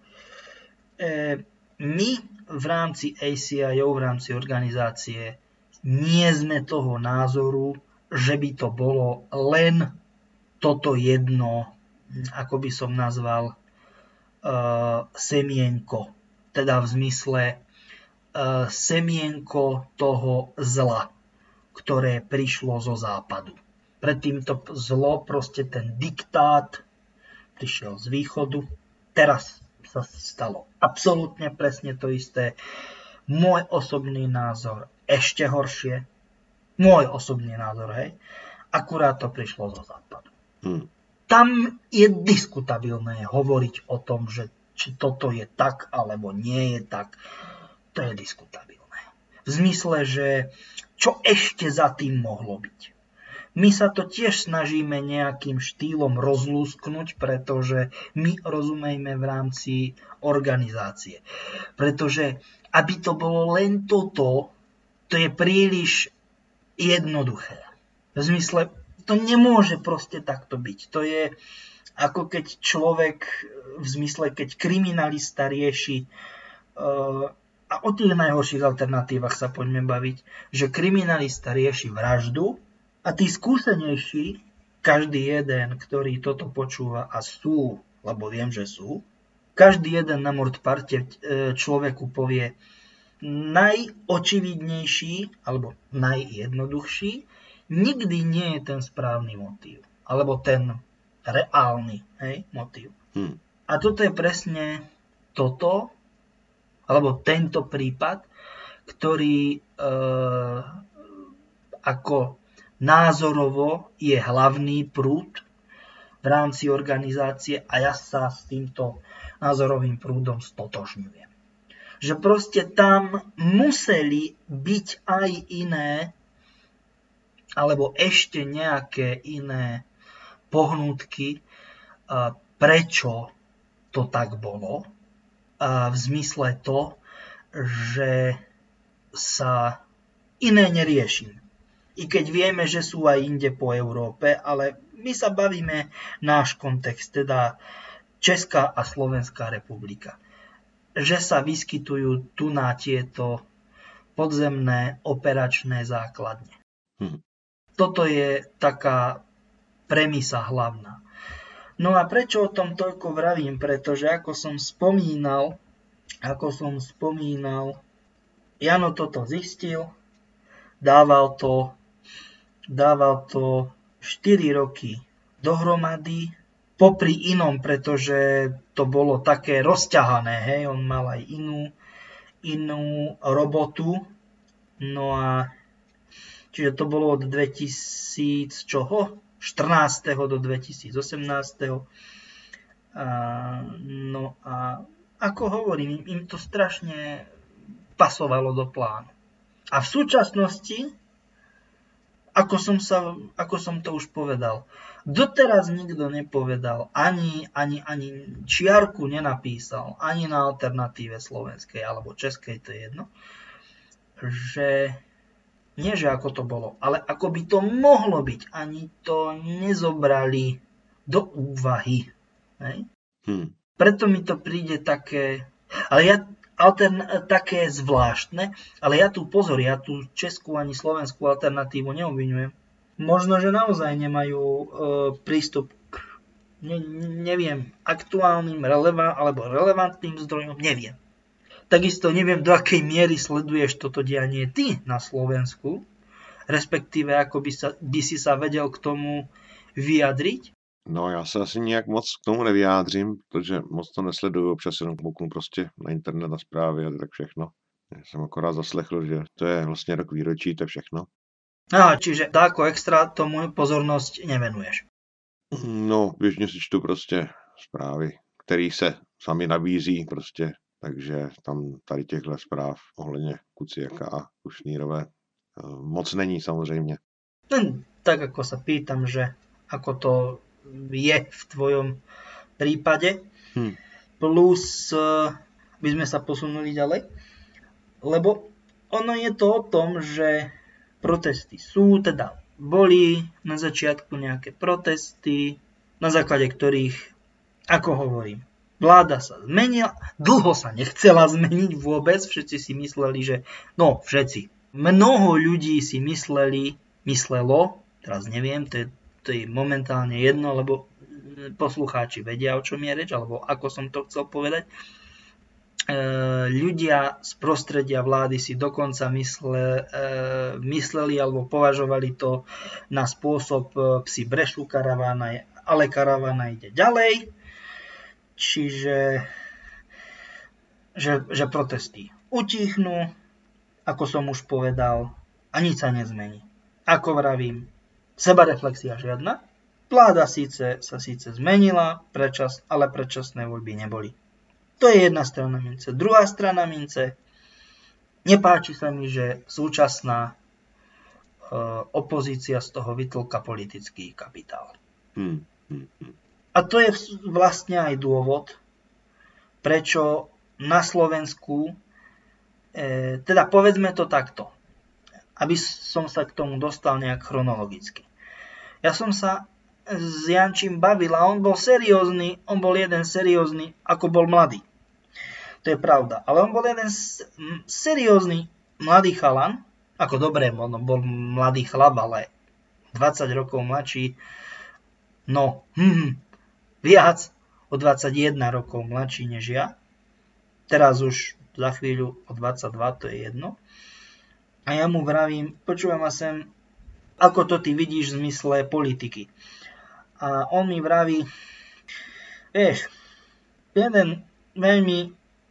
[SPEAKER 3] My v rámci ACIO, v rámci organizácie, nie sme toho názoru, že by to bolo len toto jedno, ako by som nazval, semienko. Teda v zmysle semienko toho zla, ktoré prišlo zo západu. Predtým to zlo, proste ten diktát, prišiel z východu. Teraz sa stalo absolútne presne to isté. Môj osobný názor ešte horšie. Môj osobný názor, hej. Akurát to prišlo zo západu. Tam je diskutabilné hovoriť o tom, že či toto je tak, alebo nie je tak. To je diskutabilné. V zmysle, že čo ešte za tým mohlo byť. My sa to tiež snažíme nejakým štýlom rozlúsknuť, pretože my rozumejme v rámci organizácie. Pretože aby to bolo len toto, to je príliš jednoduché. V zmysle, to nemôže proste takto byť. To je ako keď človek, v zmysle, keď kriminalista rieši, a o tých najhorších alternatívach sa poďme baviť, že kriminalista rieši vraždu a tí skúsenejší, každý jeden, ktorý toto počúva, a sú, lebo viem, že sú, každý jeden na mordparte človeku povie najočividnejší alebo najjednoduchší, nikdy nie je ten správny motív. Alebo ten reálny, hej, motív. A toto je presne toto, alebo tento prípad, ktorý ako názorovo je hlavný prúd v rámci organizácie a ja sa s týmto názorovým prúdom stotožňujem. Že proste tam museli byť aj iné, alebo ešte nejaké iné pohnútky, prečo to tak bolo. V zmysle to, že sa iné neriešim. I keď vieme, že sú aj inde po Európe, ale my sa bavíme náš kontext, teda Česká a Slovenská republika. že sa vyskytujú tu na tieto podzemné operačné základne. Toto je taká premisa hlavná. No a prečo o tom toľko vravím? Pretože ako som spomínal, Jano toto zistil, dával to 4 roky dohromady, popri inom, pretože to bolo také rozťahané, hej, on mal aj inú robotu, no a čiže to bolo od 2014. do 2018. No a ako hovorím, im to strašne pasovalo do plánu. A v súčasnosti, ako som to už povedal, doteraz nikto nepovedal, ani čiarku nenapísal, ani na alternatíve slovenskej alebo českej, to je jedno, že nie, že ako to bolo, ale ako by to mohlo byť, ani to nezobrali do úvahy. Hej? Preto mi to príde také, také zvláštne, ale ja tú českú ani slovenskú alternatívu neobviňujem. Možno, že naozaj nemajú prístup k neviem, aktuálnym alebo relevantným zdrojom, neviem. Takisto neviem, do akej miery sleduješ toto dianie ty na Slovensku, respektíve ako by si sa vedel k tomu vyjadriť.
[SPEAKER 1] No, já se asi nějak moc k tomu nevyjádřím, protože moc to nesleduju, občas jenom kouknu prostě na internet, na zprávy a tak všechno. Já jsem akorát zaslechl, že to je vlastně rok výročí, to je všechno.
[SPEAKER 3] Aha, čiže ako extra tomu pozornosť nevenuješ.
[SPEAKER 1] No, běžně si čtu prostě zprávy, které se sami nabízí prostě, takže tam tady těchto zpráv ohledně Kuciaka a Kušnírové moc není samozřejmě.
[SPEAKER 3] Tak ako sa pýtam, že ako to je v tvojom prípade. Plus by sme sa posunuli ďalej, lebo ono je to o tom, že protesty boli na začiatku nejaké protesty, na základe ktorých, ako hovorím, vláda sa zmenila, dlho sa nechcela zmeniť vôbec, všetci si mysleli, že, mnoho ľudí si myslelo, teraz neviem, to je momentálne jedno, lebo poslucháči vedia, o čom je reč, alebo ako som to chcel povedať. Ľudia z prostredia vlády si dokonca mysleli alebo považovali to na spôsob psi brešu, ale karavána ide ďalej. Čiže že protesty utichnú, ako som už povedal, a nič sa nezmení. Ako vravím, sebareflexia žiadna. Vláda sa síce zmenila, ale predčasné voľby neboli. To je jedna strana mince. Druhá strana mince, nepáči sa mi, že súčasná opozícia z toho vytlka politický kapitál. A to je vlastne aj dôvod, prečo na Slovensku, teda povedzme to takto, aby som sa k tomu dostal nejak chronologicky. Ja som sa s Jančím bavil a on bol jeden seriózny, ako bol mladý. To je pravda. Ale on bol jeden seriózny mladý chalan, ako dobre, on bol mladý chlap, ale 20 rokov mladší, viac o 21 rokov mladší než ja. Teraz už za chvíľu o 22, to je jedno. A ja mu vravím, počúvam ma sem, ako to ty vidíš v zmysle politiky. A on mi vraví, vieš, jeden veľmi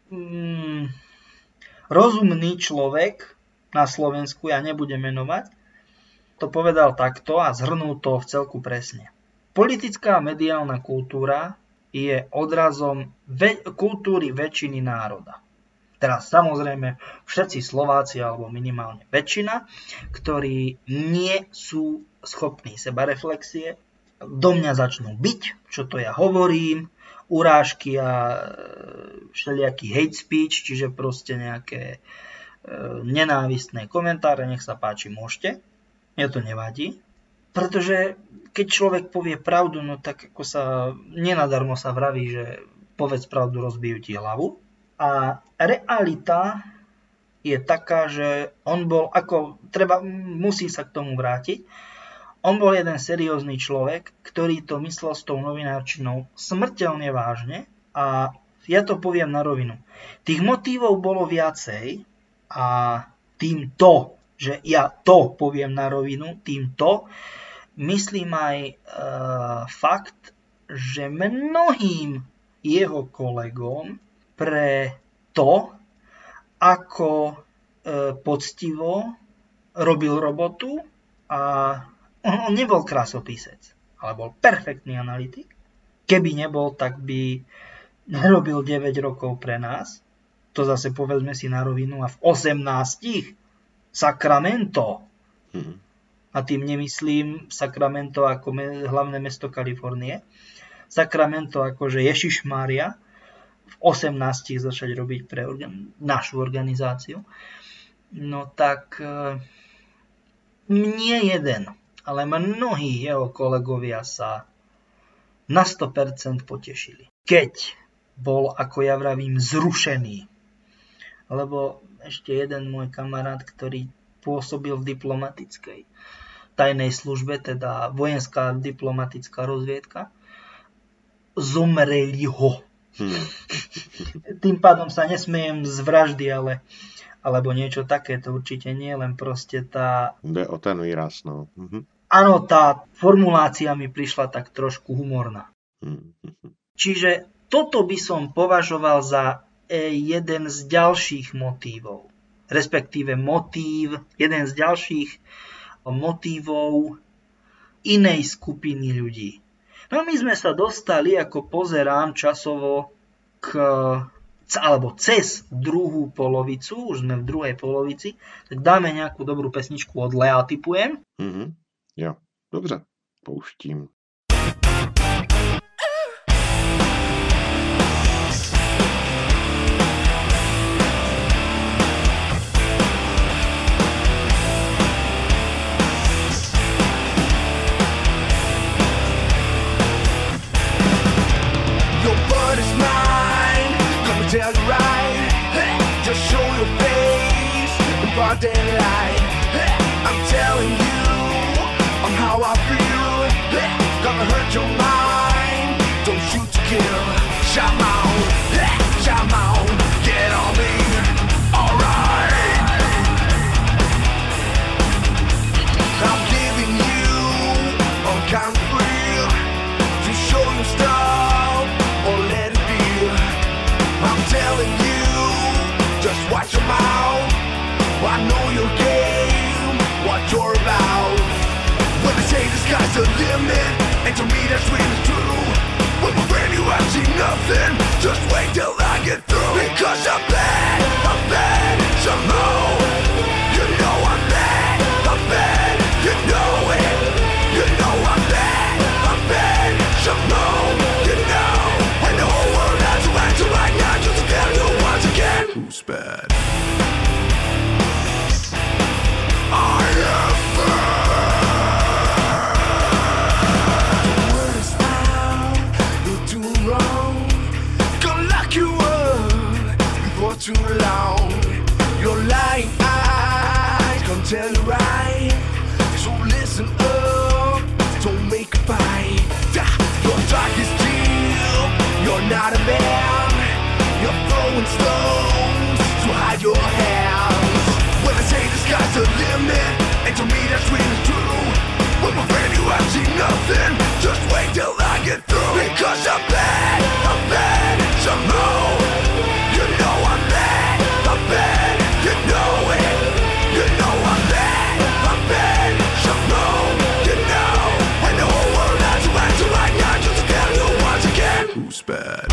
[SPEAKER 3] rozumný človek na Slovensku, ja nebudem menovať, to povedal takto a zhrnul to v celku presne. Politická a mediálna kultúra je odrazom kultúry väčšiny národa. Teraz samozrejme všetci Slováci, alebo minimálne väčšina, ktorí nie sú schopní sebareflexie, do mňa začnú byť, čo to ja hovorím, urážky a všelijaký hate speech, čiže proste nejaké nenávistné komentáre, nech sa páči, môžete. Mne to nevadí, pretože keď človek povie pravdu, no tak ako nenadarmo sa vraví, že povedz pravdu, rozbijú ti hlavu. A realita je taká, že on bol, musí sa k tomu vrátiť, on bol jeden seriózny človek, ktorý to myslel s tou novinárčinou smrteľne vážne a ja to poviem na rovinu. Tých motívov bolo viacej a týmto, že ja to poviem na rovinu, týmto myslím aj fakt, že mnohým jeho kolegom pre to, ako poctivo robil robotu a on nebol krásopisec, ale bol perfektný analytik. Keby nebol, tak by nerobil 9 rokov pre nás. To zase povedzme si na rovinu. A v 18 Sacramento. A tým nemyslím Sacramento ako hlavné mesto Kalifornie. Sacramento akože Ježišmária. V 18 začať robiť pre našu organizáciu. No tak nie jeden, ale mnohí jeho kolegovia sa na 100% potešili. Keď bol, ako ja vravím, zrušený. Lebo ešte jeden môj kamarát, ktorý pôsobil v diplomatickej tajnej službe, teda vojenská diplomatická rozviedka, zomreli ho. Tým pádom sa nesmejem z vraždy, alebo niečo také, to určite nie, len proste tá...
[SPEAKER 1] Jde o ten výraz, no.
[SPEAKER 3] Áno, tá formulácia mi prišla tak trošku humorná. Čiže toto by som považoval za jeden z ďalších motívov. Respektíve jeden z ďalších motívov inej skupiny ľudí. No my sme sa dostali, ako pozerám časovo, alebo cez druhú polovicu, už sme v druhej polovici, tak dáme nejakú dobrú pesničku od Lea, typujem.
[SPEAKER 1] Jo, dobře, pouštím.
[SPEAKER 4] Tell you right, just show your face in broad daylight. I'm telling you on how I feel. Gonna hurt your mind. Don't shoot to kill. Shut on, get on me. Alright. I'm giving you all kind of real to show your stuff or let it be. I'm telling you, just watch your mouth. I know your game, what you're about. When they say the sky's the limit, and to me that's really true. With my friend you have seen nothing, just wait till I get through. Because I'm bad, some more. You know I'm bad, you know it. You know I'm bad, some more. You know, and the whole world has to answer right now. Who's bad? I am bad. The word is out, you're doing wrong. Gonna lock you up before too long. Your lying eyes gonna tell you right. So listen up, don't make a fight. Your talk is deep, you're not a man. You're throwing stones to hide your hands. When I say the sky's the limit, and to me that's really true. With my friend you have seen nothing, just wait till I get through. Because I'm bad, some more. You know I'm bad, you know it. You know I'm bad, some more. You know, and the whole world has to answer right now. Just to tell you once again, who's bad?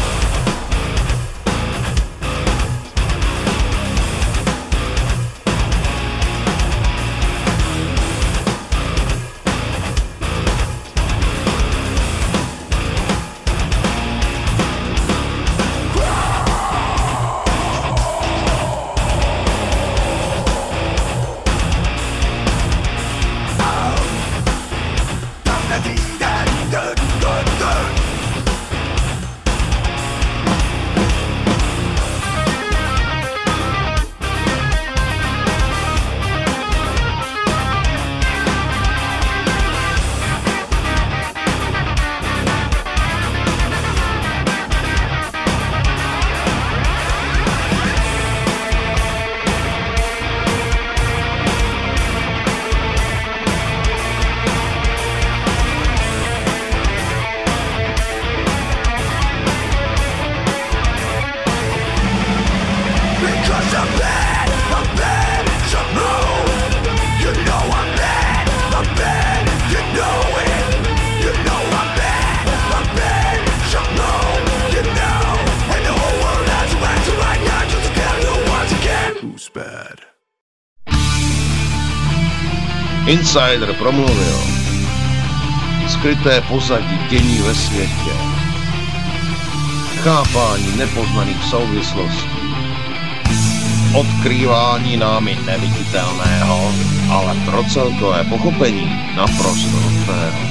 [SPEAKER 5] Insider promluvil. Skryté pozadí dění ve světě. Chápání nepoznaných souvislostí. Odkrývání námi neviditelného, ale pro celkové pochopení naprosto nutného.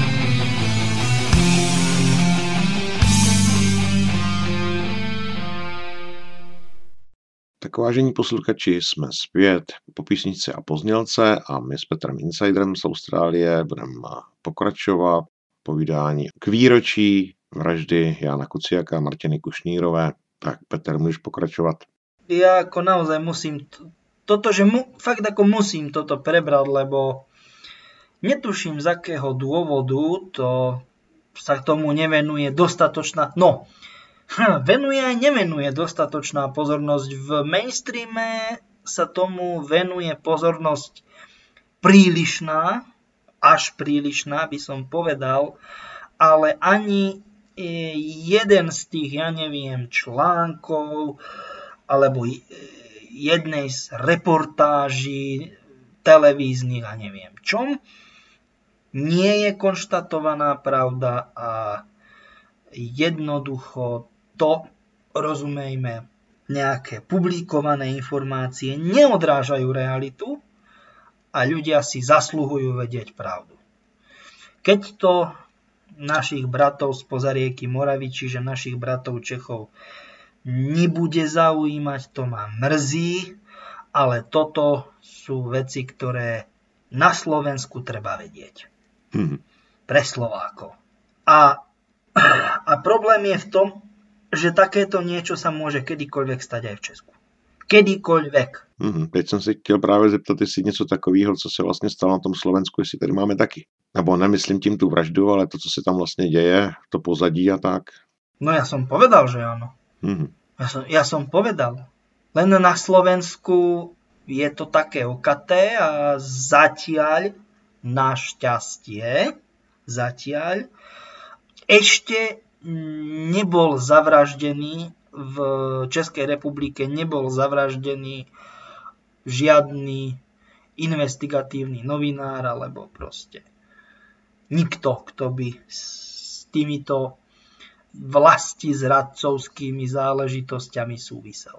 [SPEAKER 1] Tak vážení posluchači, jsme zpět po písničce a poznělce a my s Petrem Insiderem z Austrálie budeme pokračovat povídání k výročí vraždy Jána Kuciaka a Martiny Kušnírové. Tak Petr, můžeš pokračovat.
[SPEAKER 3] Ja ako naozaj musím fakt ako musím toto prebrať, lebo netuším z akého dôvodu to sa tomu nevenuje dostatočná, venuje aj nevenuje dostatočná pozornosť. V mainstreame sa tomu venuje pozornosť prílišná, až prílišná by som povedal, ale ani jeden z tých, článkov alebo jednej z reportáží televíznych a neviem čom, nie je konštatovaná pravda a jednoducho to, rozumejme, nejaké publikované informácie neodrážajú realitu a ľudia si zasluhujú vedieť pravdu. Keď to našich bratov spoza rieky Moravy, čiže našich bratov Čechov, nebude zaujímať, to ma mrzí, ale toto sú veci, ktoré na Slovensku treba vedieť. Pre Slovákov. A problém je v tom, že takéto niečo sa môže kedykoľvek stať aj v Česku. Kedykoľvek.
[SPEAKER 1] Teď jsem si chtěl právě zeptat, jestli něco takového, co se vlastně stalo na tom Slovensku, jestli tady máme taky. Nebo nemyslím tím tu vraždu, ale to, co se tam vlastně děje, to pozadí a tak.
[SPEAKER 3] No ja som povedal, že áno. Ja som povedal. Len na Slovensku je to také okaté a zatiaľ, našťastie, ešte nebol zavraždený v Českej republike, nebol zavraždený žiadny investigatívny novinár alebo proste nikto, kto by s týmito vlastizradcovskými záležitosťami súvisel.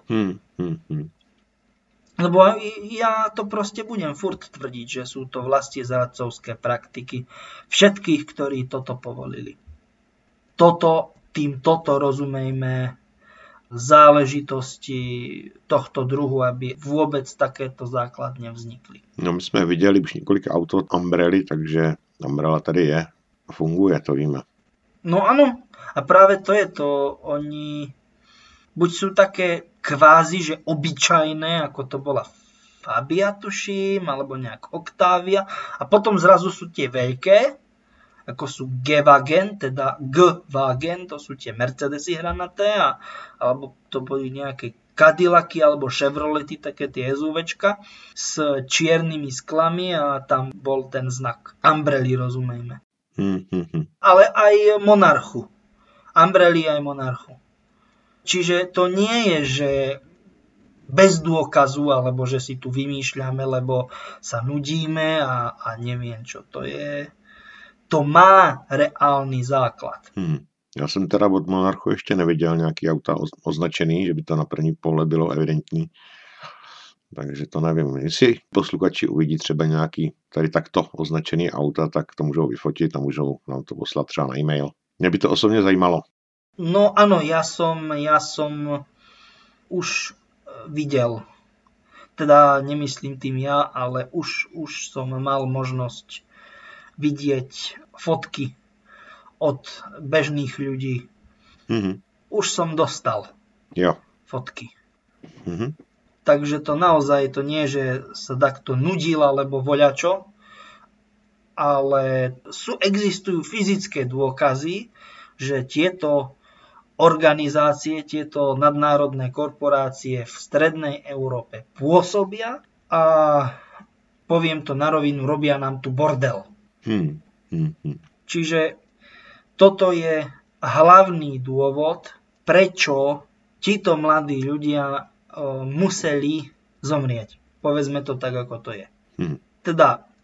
[SPEAKER 3] Lebo ja to proste budem furt tvrdiť, že sú to vlastizradcovské praktiky všetkých, ktorí toto povolili. Toto rozumejme záležitosti tohto druhu, aby vôbec takéto základne vznikli.
[SPEAKER 1] No my jsme viděli už několik aut od Umbrely, takže Umbrella tady je a funguje, to víme.
[SPEAKER 3] No áno, a práve to je to, oni buď sú také kvázi, že obyčajné, ako to bola Fabia, tuším, alebo nejak Octavia, a potom zrazu sú tie veľké, ako sú G-Wagen, teda G-Wagen, to sú tie Mercedesy hranaté, alebo to boli nejaké Cadillacy alebo Chevrolety, také tie SUVčka s čiernymi sklami a tam bol ten znak Umbrely, rozumejme. Ale aj Monarchu. Umbrely aj Monarchu. Čiže to nie je, že bez dôkazu, alebo že si tu vymýšľame, lebo sa nudíme a neviem čo to je. To má reálny základ.
[SPEAKER 1] Já jsem teda od Monarchu ještě neviděl nějaký auta označený, že by to na první pohled bylo evidentní. Takže to nevím. Jestli posluchači uvidí třeba nějaký tady takto označený auta, tak to můžou vyfotit a můžou nám to poslat třeba na e-mail. Mě by to osobně zajímalo.
[SPEAKER 3] No áno, ja som už videl. Teda nemyslím tým ja, ale už som mal možnosť vidieť fotky od bežných ľudí. Už som dostal fotky. Takže to naozaj to nie, že sa takto nudil alebo voľačo, ale existujú fyzické dôkazy, že tieto organizácie, tieto nadnárodné korporácie v strednej Európe pôsobia a poviem to na rovinu, robia nám tu bordel. Čiže toto je hlavný dôvod, prečo títo mladí ľudia museli zomrieť. Povedzme to tak, ako to je. Teda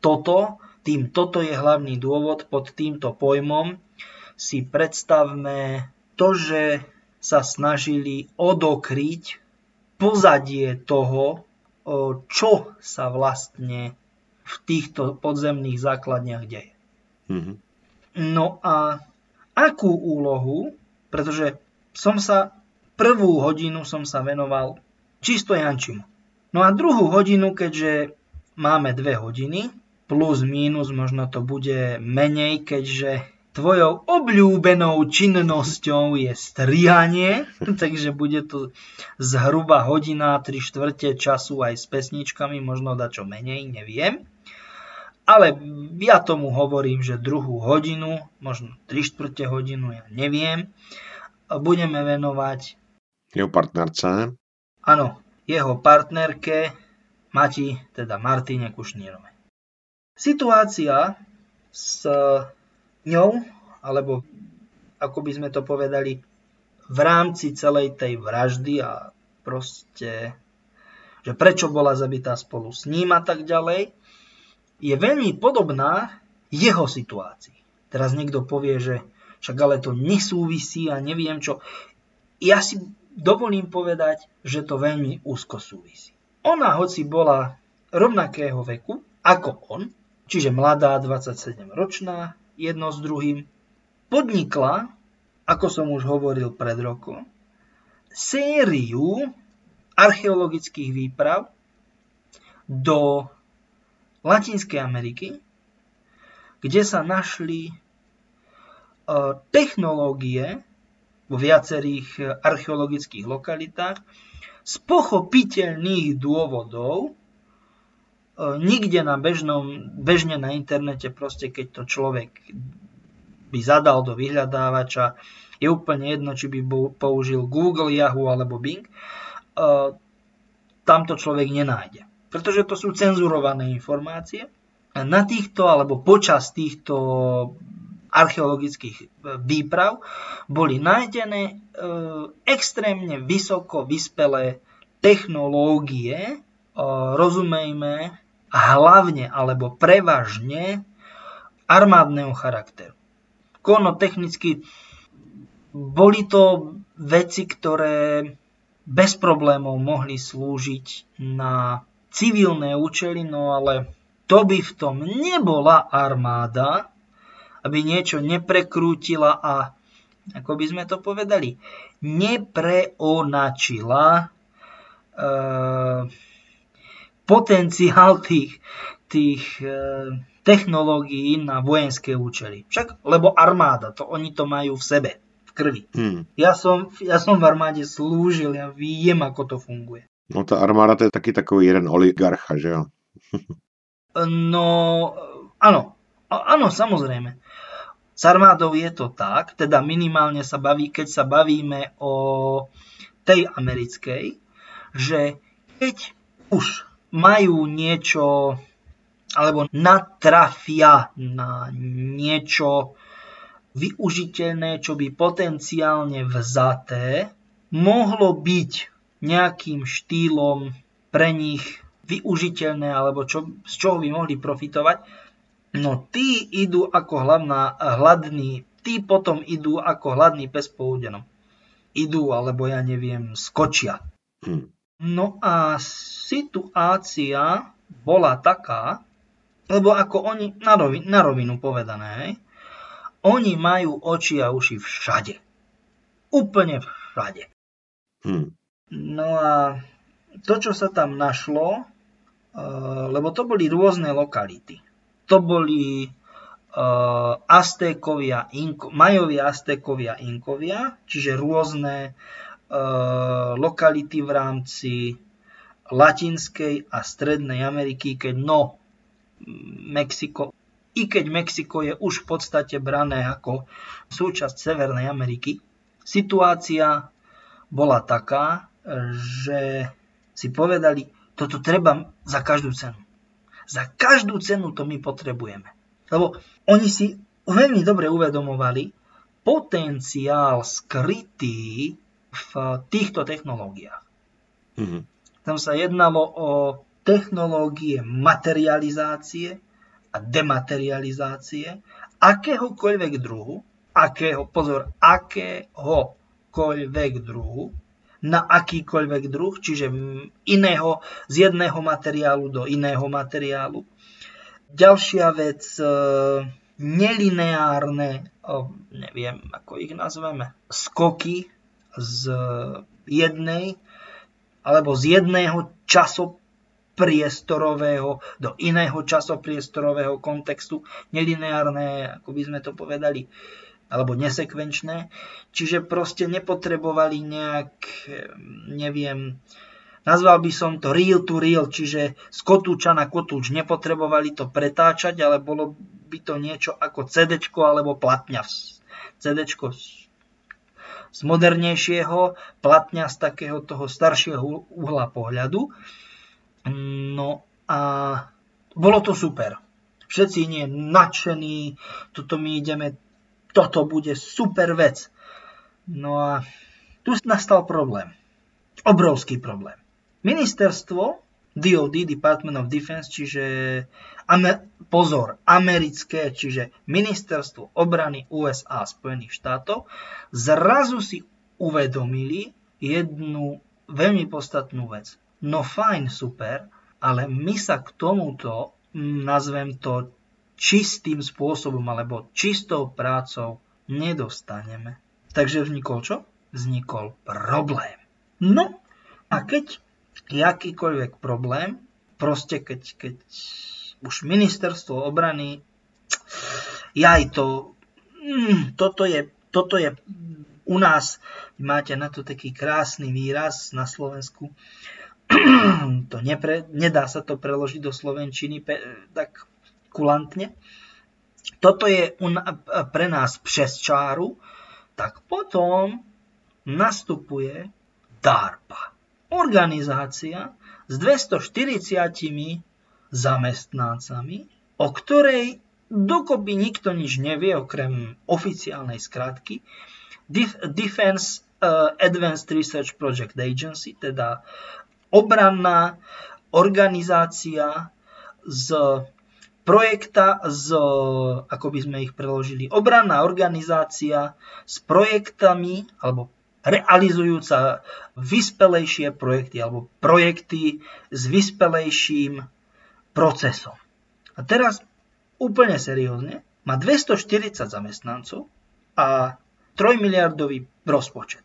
[SPEAKER 3] toto je hlavný dôvod, pod týmto pojmom si predstavme to, že sa snažili odokryť pozadie toho, čo sa vlastne v týchto podzemných základniach deje.
[SPEAKER 1] Mhm.
[SPEAKER 3] No a akú úlohu, pretože prvú hodinu som sa venoval čisto Jančimu. No a druhú hodinu, keďže máme 2 hodiny, plus mínus, možno to bude menej, keďže tvojou obľúbenou činnosťou je strihanie, takže bude to zhruba hodina, 3/4 času aj s pesničkami, možno dačo menej, neviem. Ale ja tomu hovorím, že druhú hodinu, možno 3/4 hodinu, ja neviem, budeme venovať
[SPEAKER 1] Jeho partnerce.
[SPEAKER 3] áno, jeho partnerke Mati, teda Martine Kušnírovej. Situácia s ňou, alebo ako by sme to povedali, v rámci celej tej vraždy a proste, že prečo bola zabitá spolu s ním a tak ďalej, je veľmi podobná jeho situácii. Teraz niekto povie, že však ale to nesúvisí a neviem čo. Ja si dovolím povedať, že to veľmi úzko súvisí. Ona, hoci bola rovnakého veku ako on, čiže mladá, 27-ročná, jedno s druhým, podnikla, ako som už hovoril pred rokom, sériu archeologických výprav do Latinskej Ameriky, kde sa našli technológie vo viacerých archeologických lokalitách z pochopiteľných dôvodov. Nikde bežne na internete, proste keď to človek by zadal do vyhľadávača, je úplne jedno, či by použil Google, Yahoo alebo Bing, tam to človek nenájde. Pretože to sú cenzurované informácie. A na týchto, alebo počas týchto archeologických výprav boli nájdené extrémne vysoko vyspelé technológie, rozumejme, hlavne alebo prevažne armádneho charakteru. Technicky boli to veci, ktoré bez problémov mohli slúžiť na civilné účely, no ale to by v tom nebola armáda, aby niečo neprekrútila a, ako by sme to povedali, nepreonačila potenciál tých technológií na vojenské účely. Však, lebo armáda, oni to majú v sebe, v krvi. Ja som v armáde slúžil, ja viem, ako to funguje.
[SPEAKER 1] No ta armáda to je taky takový jeden oligarcha, že jo?
[SPEAKER 3] No, áno, samozrejme. S armádou je to tak, teda minimálne keď sa bavíme o tej americkej, že keď už majú niečo, alebo natrafia na niečo využiteľné, čo by potenciálne vzaté mohlo byť nejakým štýlom pre nich využiteľné, alebo z čoho by mohli profitovať, no tí potom idú ako hladný pes po údenom. Idú, alebo ja neviem, skočia. No a situácia bola taká, lebo ako oni, na rovinu povedané, oni majú oči a uši všade. Úplne všade. No a to, čo sa tam našlo, lebo to boli rôzne lokality. To boli Majovia, Aztékovia, Inkovia, čiže rôzne lokality v rámci Latinskej a Strednej Ameriky, keď Mexiko je už v podstate brané ako súčasť Severnej Ameriky, situácia bola taká, že si povedali, toto treba za každú cenu. Za každú cenu to my potrebujeme. Lebo oni si veľmi dobre uvedomovali potenciál skrytý v týchto technológiách. Tam sa jednalo o technológie materializácie, a dematerializácie akéhokoľvek druhu, akéhokoľvek druhu, na akýkoľvek druh, čiže z jedného materiálu do iného materiálu. Ďalšia vec, nelineárne, neviem, ako ich nazveme, skoky z jedného časopriestorového do iného časopriestorového kontextu, nelineárne, ako by sme to povedali, alebo nesekvenčné. Čiže proste nepotrebovali nejak, neviem, nazval by som to reel to reel, čiže z kotúča na kotúč. Nepotrebovali to pretáčať, ale bolo by to niečo ako CD-čko alebo platňa. CD-čko z modernejšieho, platňa z takého toho staršieho uhla pohľadu. No a bolo to super. Všetci nie nadšení, toto bude super vec. No a tu nastal problém. Obrovský problém. Ministerstvo DoD, Department of Defense, čiže americké, čiže Ministerstvo obrany USA Spojených štátov, zrazu si uvedomili jednu veľmi podstatnú vec. No fajn, super, ale my sa k tomuto, nazvem to čistým spôsobom alebo čistou prácou nedostaneme. Takže vznikol čo? Vznikol problém. No a keď akýkoľvek problém, proste keď už ministerstvo obrany, toto je u nás, máte na to taký krásny výraz na Slovensku, nedá sa to preložiť do slovenčiny tak kulantne. Toto je pre nás přes čáru, tak potom nastupuje DARPA. Organizácia s 240 zamestnancami, o ktorej dokopy nikto nič nevie, okrem oficiálnej skratky Defense Advanced Research Project Agency, teda obranná organizácia ako by sme ich preložili, obranná organizácia s projektami, alebo realizujúca vyspelejšie projekty, alebo projekty s vyspelejším procesom. A teraz úplne seriózne, má 240 zamestnancov a 3 miliardový rozpočet.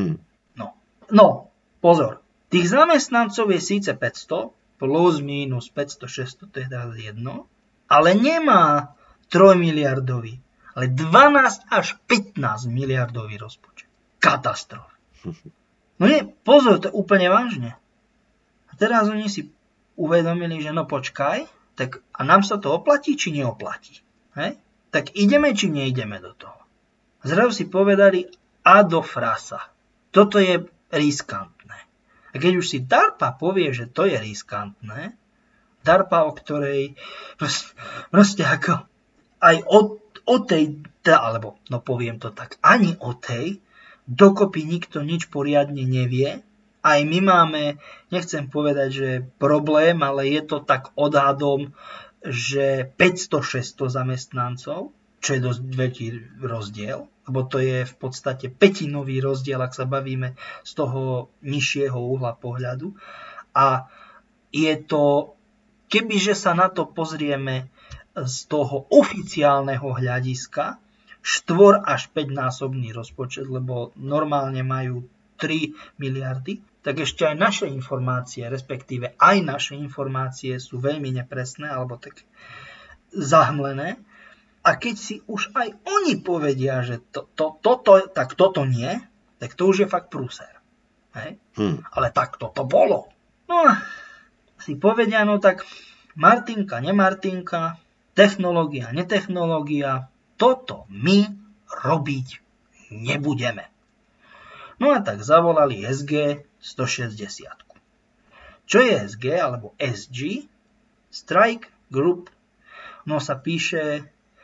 [SPEAKER 3] No, pozor, tých zamestnancov je síce 500, plus, minus 500, 600, to je teraz jedno, ale nemá 3 miliardový, ale 12 až 15 miliardový rozpočet. Katastrofa. No nie, pozor, to je úplne vážne. A teraz oni si uvedomili, že no počkaj, tak a nám sa to oplatí, či neoplatí? Hej? Tak ideme, či neideme do toho? Zrazu si povedali a do frasa. Toto je riskantné. A keď už si DARPA povie, že to je riskantné, DARPA, o ktorej proste ako aj o tej, alebo no poviem to tak, ani o tej, dokopy nikto nič poriadne nevie. Aj my máme, nechcem povedať, že problém, ale je to tak odhadom, že 500-600 zamestnancov, čo je dosť veľký rozdiel, lebo to je v podstate pätinový rozdiel, ak sa bavíme z toho nižšieho uhla pohľadu. A je to, kebyže sa na to pozrieme z toho oficiálneho hľadiska, 4 až 5 násobný rozpočet, lebo normálne majú 3 miliardy, tak ešte aj naše informácie, respektíve aj naše informácie sú veľmi nepresné alebo tak zahmlené. A keď si už aj oni povedia, že toto nie, tak to už je fakt prúser. Hej? Ale tak toto bolo. No a si povedia, no tak Martinka, nemartinka, technológia, netechnológia, toto my robiť nebudeme. No a tak zavolali SG 160. Čo je SG alebo SG? Strike Group. No sa píše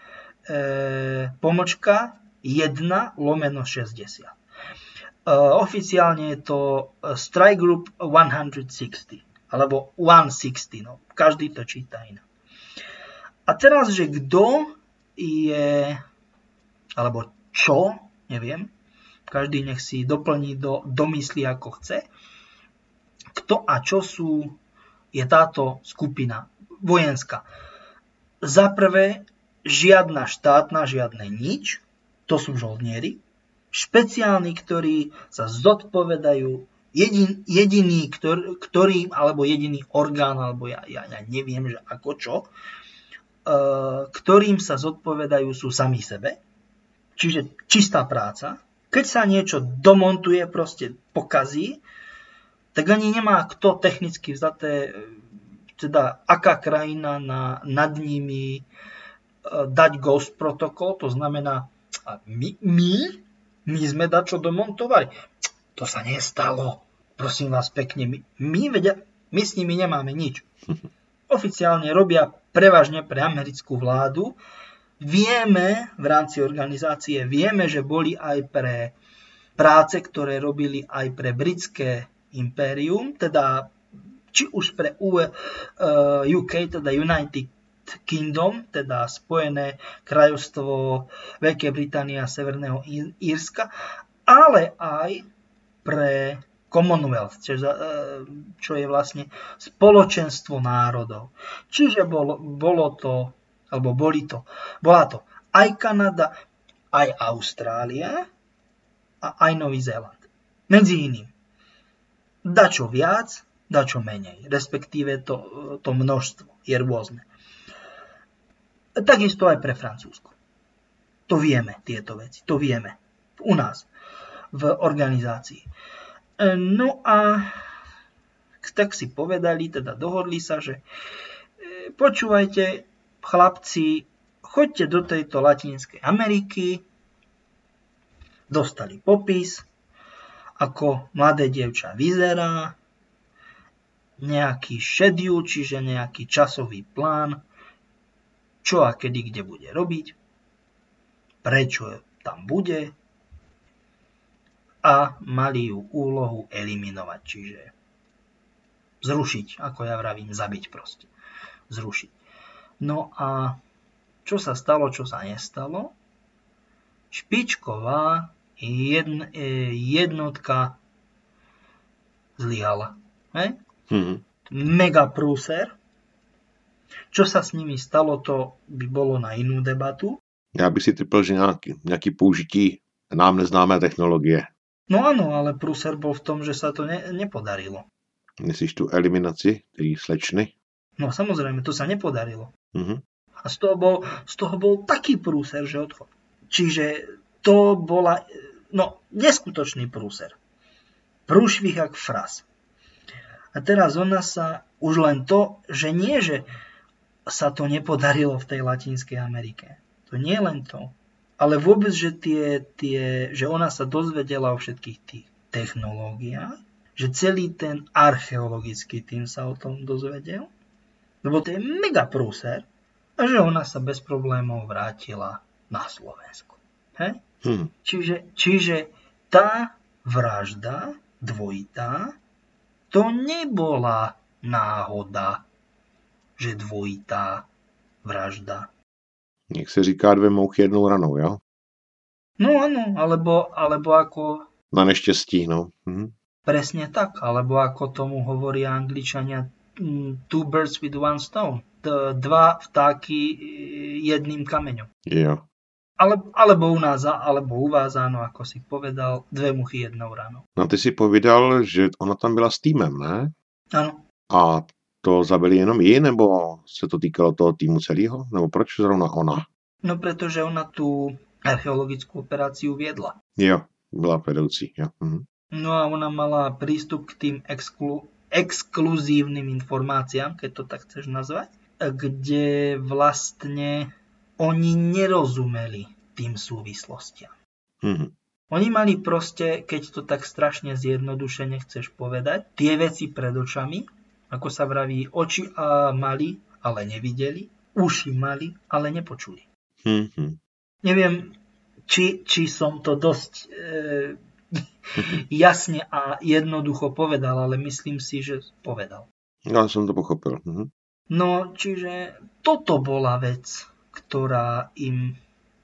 [SPEAKER 3] pomočka 1/60. Oficiálne je to Strike Group 160 alebo 160. No, každý to číta inak. A teraz, že kto je, alebo čo, neviem, každý nech si doplní do mysli, ako chce, kto a čo je táto skupina vojenská. Za prvé, žiadna štátna, žiadne nič, to sú žoldnieri, špeciálni, ktorí sa zodpovedajú, jediný, ktorý, alebo jediný orgán, alebo ja neviem, že ako čo, ktorým sa zodpovedajú sú sami sebe, čiže čistá práca. Keď sa niečo domontuje, proste pokazí, tak ani nemá kto technicky vzaté, teda aká krajina nad nimi dať ghost protokol, to znamená, my sme dačo domontovali. To sa nestalo. Prosím vás pekne, my s nimi nemáme nič. Oficiálne robia prevažne pre americkú vládu. Vieme, v rámci organizácie, že boli aj pre práce, ktoré robili aj pre britské impérium, teda či už pre UK, teda United Kingdom, teda Spojené kráľovstvo Veľkej Británie a Severného Írska, ale aj pre Commonwealth, čo je vlastne spoločenstvo národov. Čiže bola to aj Kanada, aj Austrália a aj Nový Zéland. Medzi iným. Dačo viac, dačo menej. Respektíve to množstvo je rôzne. Takisto aj pre Francúzsko. To vieme, tieto veci. To vieme. U nás. V organizácii. No a tak si povedali, teda dohodli sa, že počúvajte, chlapci, choďte do tejto Latinskej Ameriky, dostali popis, ako mladé dievča vyzerá, nejaký schedule, čiže nejaký časový plán, čo a kedy kde bude robiť, prečo tam bude, a mali ju úlohu eliminovať, čiže zrušiť, ako ja vravím, zabiť proste. Zrušiť. No a čo sa stalo, čo sa nestalo? Špičková jednotka zlyhala. Mega prúser. Čo sa s nimi stalo, to by bolo na inú debatu.
[SPEAKER 1] Já bych si typl, že nějaký použití nám neznámé technologie.
[SPEAKER 3] No áno, ale prúser bol v tom, že sa to nepodarilo.
[SPEAKER 1] Myslíš tu eliminaci tej slečny?
[SPEAKER 3] No samozrejme, to sa nepodarilo.
[SPEAKER 1] Uh-huh.
[SPEAKER 3] A z toho bol taký prúser, že odchod. Čiže to bola neskutočný prúser. Prúšvih jak fras. A teraz ona sa, už len to, že nie, že sa to nepodarilo v tej Latinskej Amerike. To nie len to. Ale vôbec, že že ona sa dozvedela o všetkých tých technológiách, že celý ten archeologický tým sa o tom dozvedel, lebo to je mega prúser, a že ona sa bez problémov vrátila na Slovensku. Čiže tá vražda dvojitá, to nebola náhoda, že dvojitá vražda.
[SPEAKER 1] Jak se říká, 2 mouchy jednou ranou, jo?
[SPEAKER 3] No áno, alebo ako...
[SPEAKER 1] Na neštěstí, no.
[SPEAKER 3] Presne tak, alebo ako tomu hovoria Angličania, 2 birds with 1 stone. 2 vtáky jedným kameňom.
[SPEAKER 1] Jo.
[SPEAKER 3] Alebo u nás, alebo u vás, áno, ako si povedal, 2 muchy jednou ranou.
[SPEAKER 1] No ty si povídal, že ona tam byla s týmem, ne?
[SPEAKER 3] Áno.
[SPEAKER 1] A to zabili jenom ji, nebo se to týkalo toho týmu celého? Nebo proč zrovna ona?
[SPEAKER 3] No pretože ona tú archeologickú operáciu viedla.
[SPEAKER 1] Jo, byla vedoucí, jo.
[SPEAKER 3] No a ona mala prístup k tým exkluzívnym informáciám, keď to tak chceš nazvať, kde vlastne oni nerozumeli tým súvislostiam. Oni mali proste, keď to tak strašne zjednodušene chceš povedať, tie veci pred očami, ako sa vraví, oči mali, ale nevideli, uši mali, ale nepočuli. Neviem, či som to dosť jasne a jednoducho povedal, ale myslím si, že povedal.
[SPEAKER 1] Já jsem to pochopil.
[SPEAKER 3] No, čiže toto bola vec, ktorá im,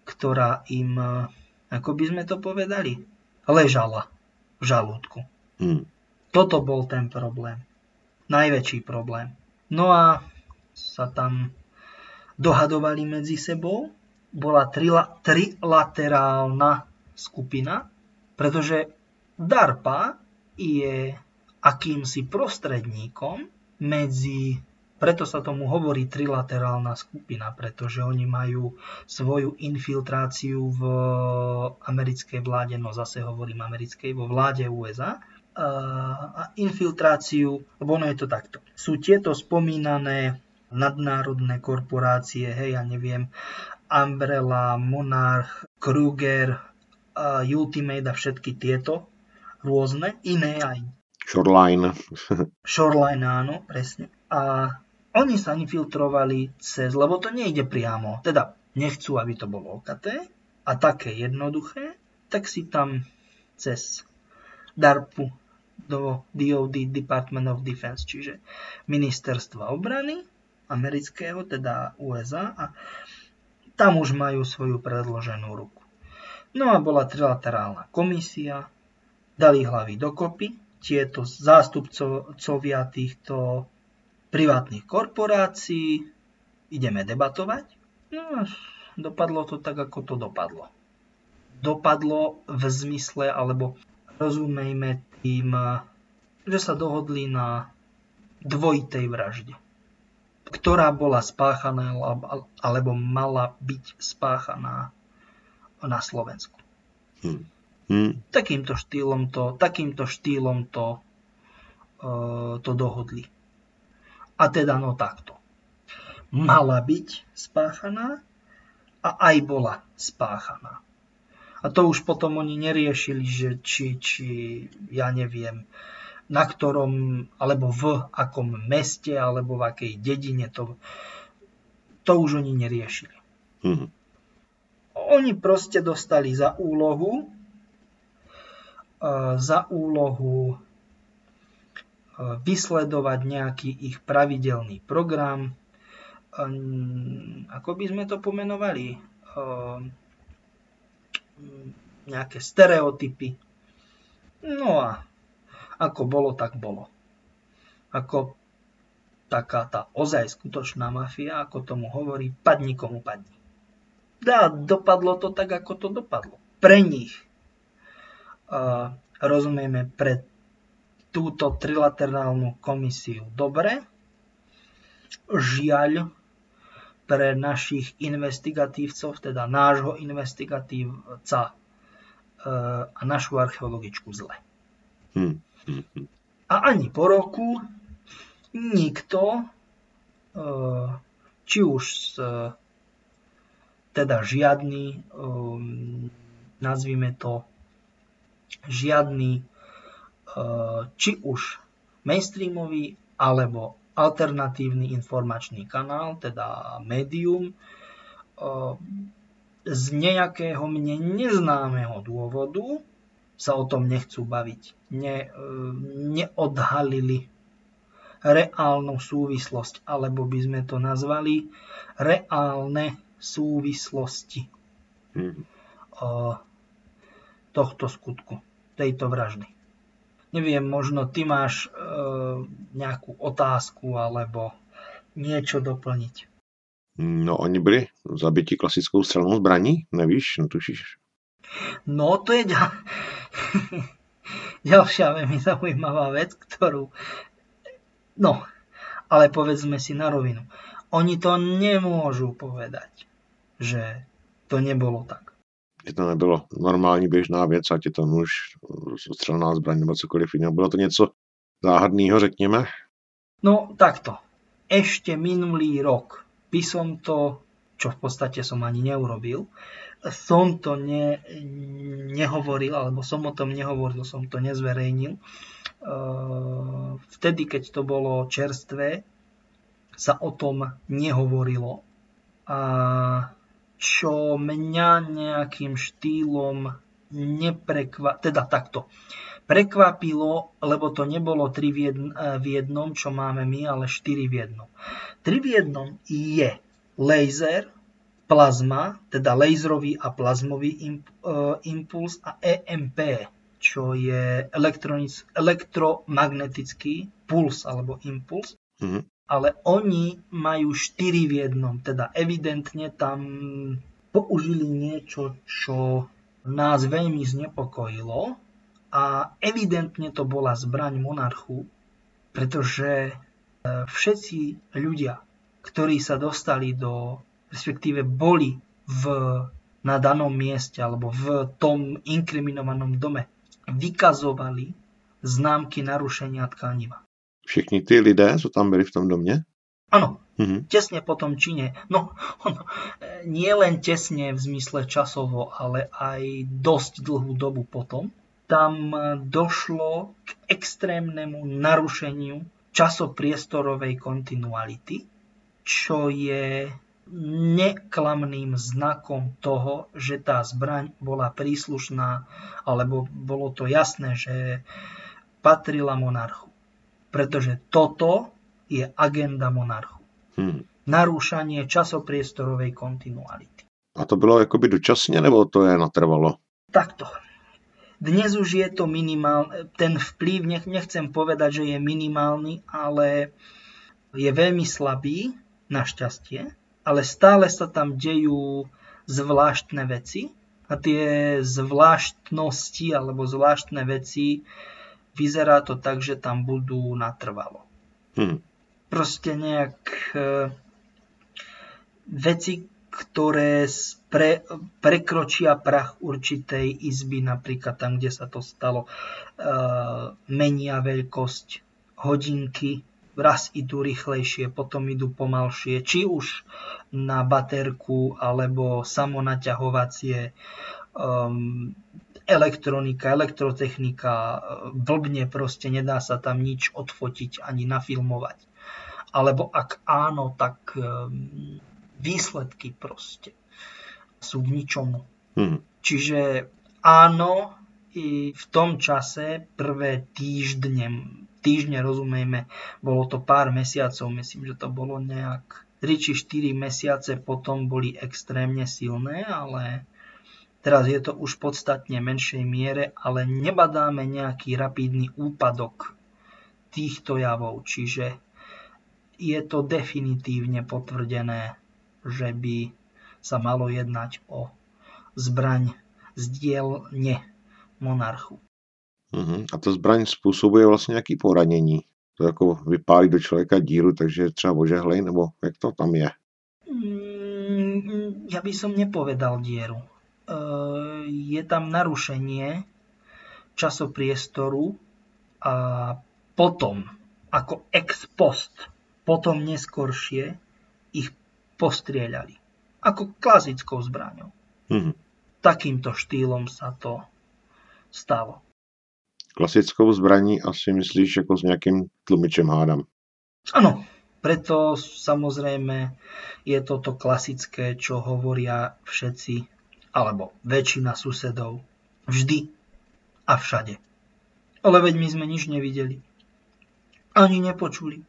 [SPEAKER 3] ako by sme to povedali, ležala v žalúdku. Toto bol ten problém. Najväčší problém. No a sa tam dohadovali medzi sebou. Bola trilaterálna skupina, pretože DARPA je akýmsi prostredníkom medzi, preto sa tomu hovorí trilaterálna skupina, pretože oni majú svoju infiltráciu v americkej vláde, no zase hovorím americkej, vo vláde USA, a infiltráciu, lebo ono je to takto. Sú tieto spomínané nadnárodné korporácie, hej, ja neviem, Umbrella, Monarch, Kruger, Ultimate a všetky tieto rôzne, iné aj. Shoreline, áno, presne. A oni sa infiltrovali cez, lebo to nejde priamo, teda nechcú, aby to bolo OKT a také jednoduché, tak si tam cez DARPu do DOD, Department of Defense, čiže ministerstva obrany amerického, teda USA, a tam už majú svoju predloženú ruku. No a bola trilaterálna komisia, dali hlavy dokopy, tieto zástupcovia týchto privátnych korporácií, ideme debatovať. No a dopadlo to tak, ako to dopadlo. Dopadlo v zmysle, alebo rozumejme tým, že sa dohodli na dvojitej vražde, ktorá bola spáchaná, alebo mala byť spáchaná na Slovensku. Takýmto štýlom to dohodli. A teda no takto. Mala byť spáchaná a aj bola spáchaná. A to už potom oni neriešili, že či ja neviem, na ktorom, alebo v akom meste, alebo v akej dedine, to už oni neriešili. Oni proste dostali za úlohu vysledovať nejaký ich pravidelný program, ako by sme to pomenovali, nejaké stereotypy. No a ako bolo, tak bolo. Ako taká tá ozaj skutočná mafia, ako tomu hovorí, padni komu padni. Dá, dopadlo to tak, ako to dopadlo. Pre nich, rozumieme, pre túto trilaterálnu komisiu dobre. Žiaľ, pre našich investigatívcov, teda nášho investigatívca a našu archeologičku zle. A ani po roku nikto, či už teda žiadny, nazvime to, žiadny, či už mainstreamový alebo alternatívny informačný kanál, teda médium, z nejakého mne neznámeho dôvodu sa o tom nechcú baviť. Neodhalili reálnu súvislosť, alebo by sme to nazvali reálne súvislosti tohto skutku, tejto vraždy. Neviem, možno ty máš nejakú otázku alebo niečo doplniť.
[SPEAKER 1] No, oni byli zabiti klasickou střelnou zbraní? Nevíš, netušíš?
[SPEAKER 3] No, to je ďalšia veľmi zaujímavá vec, ktorú... No, ale povedzme si na rovinu. Oni to nemôžu povedať, že to nebolo tak.
[SPEAKER 1] Že to nebylo normální běžná věc, ať je to nůž, střelná zbraň nebo cokoliv jiného. Bylo to něco záhadného, řekněme?
[SPEAKER 3] No, takto. Ešte minulý rok by som to, čo v podstate som ani neurobil, som to nehovoril, alebo som o tom nehovoril, som to nezverejnil. Vtedy, keď to bolo čerstvé, sa o tom nehovorilo. A čo mňa nejakým štýlom teda takto. prekvapilo, lebo to nebolo 3 v jednom, čo máme my, ale 4 v jednom. 3 v jednom je laser, plazma, teda laserový a plazmový impuls a EMP, čo je elektromagnetický puls alebo impuls. Ale oni majú 4 v jednom, teda evidentne tam použili niečo, čo nás veľmi znepokojilo a evidentne to bola zbraň monarchu, pretože všetci ľudia, ktorí sa dostali respektíve boli na danom mieste alebo v tom inkriminovanom dome, vykazovali známky narušenia tkaniva.
[SPEAKER 1] Všichni ty lidé, co tam byli v tom domě?
[SPEAKER 3] Áno, tesne po tom čine. No, nie len tesne v zmysle časovo, ale aj dosť dlhú dobu potom. Tam došlo k extrémnemu narušeniu časopriestorovej kontinuality, čo je neklamným znakom toho, že tá zbraň bola príslušná, alebo bolo to jasné, že patrila monarchu. Pretože toto je agenda monarchu. Narúšanie časopriestorovej kontinuality.
[SPEAKER 1] A to bylo jakoby dočasně, nebo to je natrvalo?
[SPEAKER 3] Takto. Dnes už je to minimálne, ten vplyv, nechcem povedať, že je minimálny, ale je veľmi slabý, našťastie, ale stále sa tam dejú zvláštne veci a tie zvláštnosti alebo zvláštne veci vyzerá to tak, že tam budú natrvalo. Proste nejak veci, ktoré prekročia prach určitej izby, napríklad tam, kde sa to stalo, menia veľkosť hodinky, raz idú rýchlejšie, potom idú pomalšie, či už na baterku, alebo samonaťahovacie, elektronika, elektrotechnika, blbne proste, nedá sa tam nič odfotiť ani nafilmovať. Alebo ak áno, tak výsledky proste sú k ničomu. Čiže áno, i v tom čase prvé týždne rozumejme, bolo to pár mesiacov, myslím, že to bolo nejak 3 či 4 mesiace potom boli extrémne silné, ale teraz je to už v podstatne menšej miere, ale nebadáme nejaký rapidný úpadok týchto javov, čiže je to definitívne potvrdené, že by sa malo jednať o zbraň z dielne monarchu.
[SPEAKER 1] A ta zbraň způsobuje vlastně nějaký poranění? To jako vypálí do člověka díru, takže je třeba ožehlej, nebo jak to tam je?
[SPEAKER 3] Ja by som nepovedal dieru. Je tam narušenie časopriestoru a potom, ako ex post, potom neskoršie ich postrieľali. Ako klasickou zbraňou. Takýmto štýlom sa to stalo.
[SPEAKER 1] Klasickou zbraní asi myslíš jako s nějakým tlumičem, hádam.
[SPEAKER 3] Áno, preto samozrejme je toto klasické, čo hovoria všetci, alebo väčšina susedov, vždy a všade. Ale veď my sme nič nevideli. Ani nepočuli.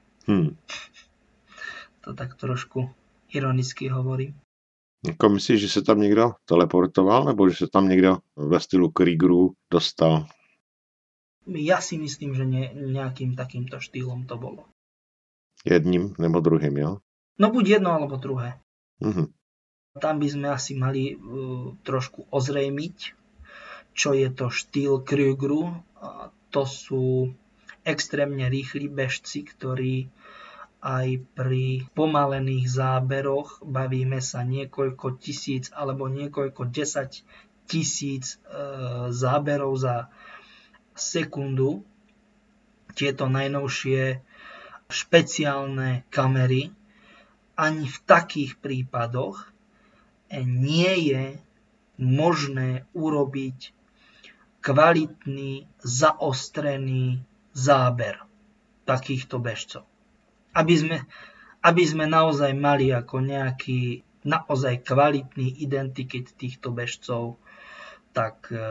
[SPEAKER 3] To tak trošku ironicky hovorím.
[SPEAKER 1] Jako myslíš, že se tam někdo teleportoval, nebo že se tam někdo ve stylu Kriegeru dostal?
[SPEAKER 3] Ja si myslím, že nejakým takýmto štýlom to bolo.
[SPEAKER 1] Jedním nebo druhým, jo?
[SPEAKER 3] No buď jedno, alebo druhé.
[SPEAKER 1] Tam
[SPEAKER 3] by sme asi mali trošku ozrejmiť, čo je to štýl Kriegeru. To sú extrémne rýchli bežci, ktorí aj pri pomalených záberoch, bavíme sa niekoľko tisíc alebo niekoľko 10 000 záberov za sekundu. Tieto najnovšie špeciálne kamery ani v takých prípadoch nie je možné urobiť kvalitný, zaostrený záber takýchto bežcov. Aby sme naozaj mali ako nejaký naozaj kvalitný identikit týchto bežcov, tak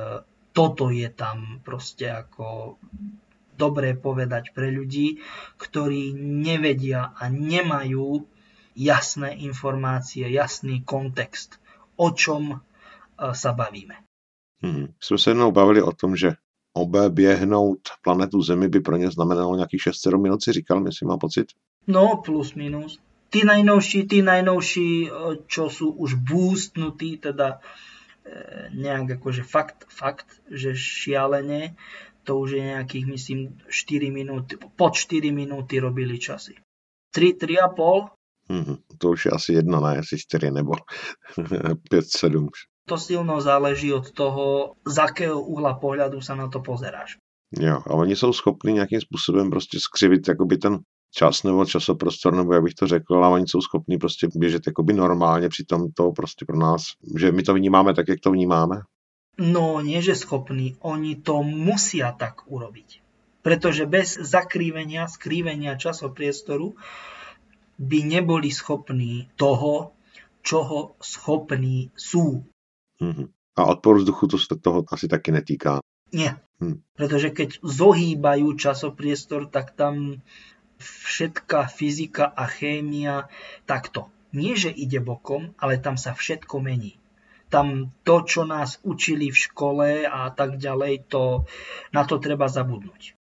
[SPEAKER 3] toto je tam proste ako dobré povedať pre ľudí, ktorí nevedia a nemajú jasné informácie, jasný kontext, o čom sa bavíme.
[SPEAKER 1] Jsme se jednou bavili o tom, že oběhnout planetu Zemi by pro ně znamenalo nějakých 6-7 minut, si říkal, myslím, mám pocit.
[SPEAKER 3] No, plus minus. Tí najnovší, čo sú už boostnutí, teda nejak akože fakt, že šialene, to už je nejakých, myslím, 4 minúty, pod 4 minúty robili časy. 3,5.
[SPEAKER 1] To už je asi jedna, ne, jestli 4 nebo 5-7.
[SPEAKER 3] To silno záleží od toho, z akého uhla pohľadu sa na to pozeráš.
[SPEAKER 1] Jo, a oni jsou schopni nějakým způsobem prostě skřivit jakoby ten čas nebo časoprostor, nebo jak bych to řekl, a oni jsou schopni prostě běžet jakoby normálně, přitom to prostě pro nás, že my to vnímáme tak, jak to vnímáme.
[SPEAKER 3] No, nie že schopní, oni to musia tak urobiť. Pretože bez skrývenia časopriestoru by neboli schopní toho, čoho schopní sú.
[SPEAKER 1] A odpor vzduchu to se toho asi taky netýká.
[SPEAKER 3] Nie, pretože keď zohýbajú časopriestor, tak tam všetká fyzika a chémia takto. Nie, že ide bokom, ale tam sa všetko mení. Tam to, čo nás učili v škole a tak ďalej, na to treba zabudnúť.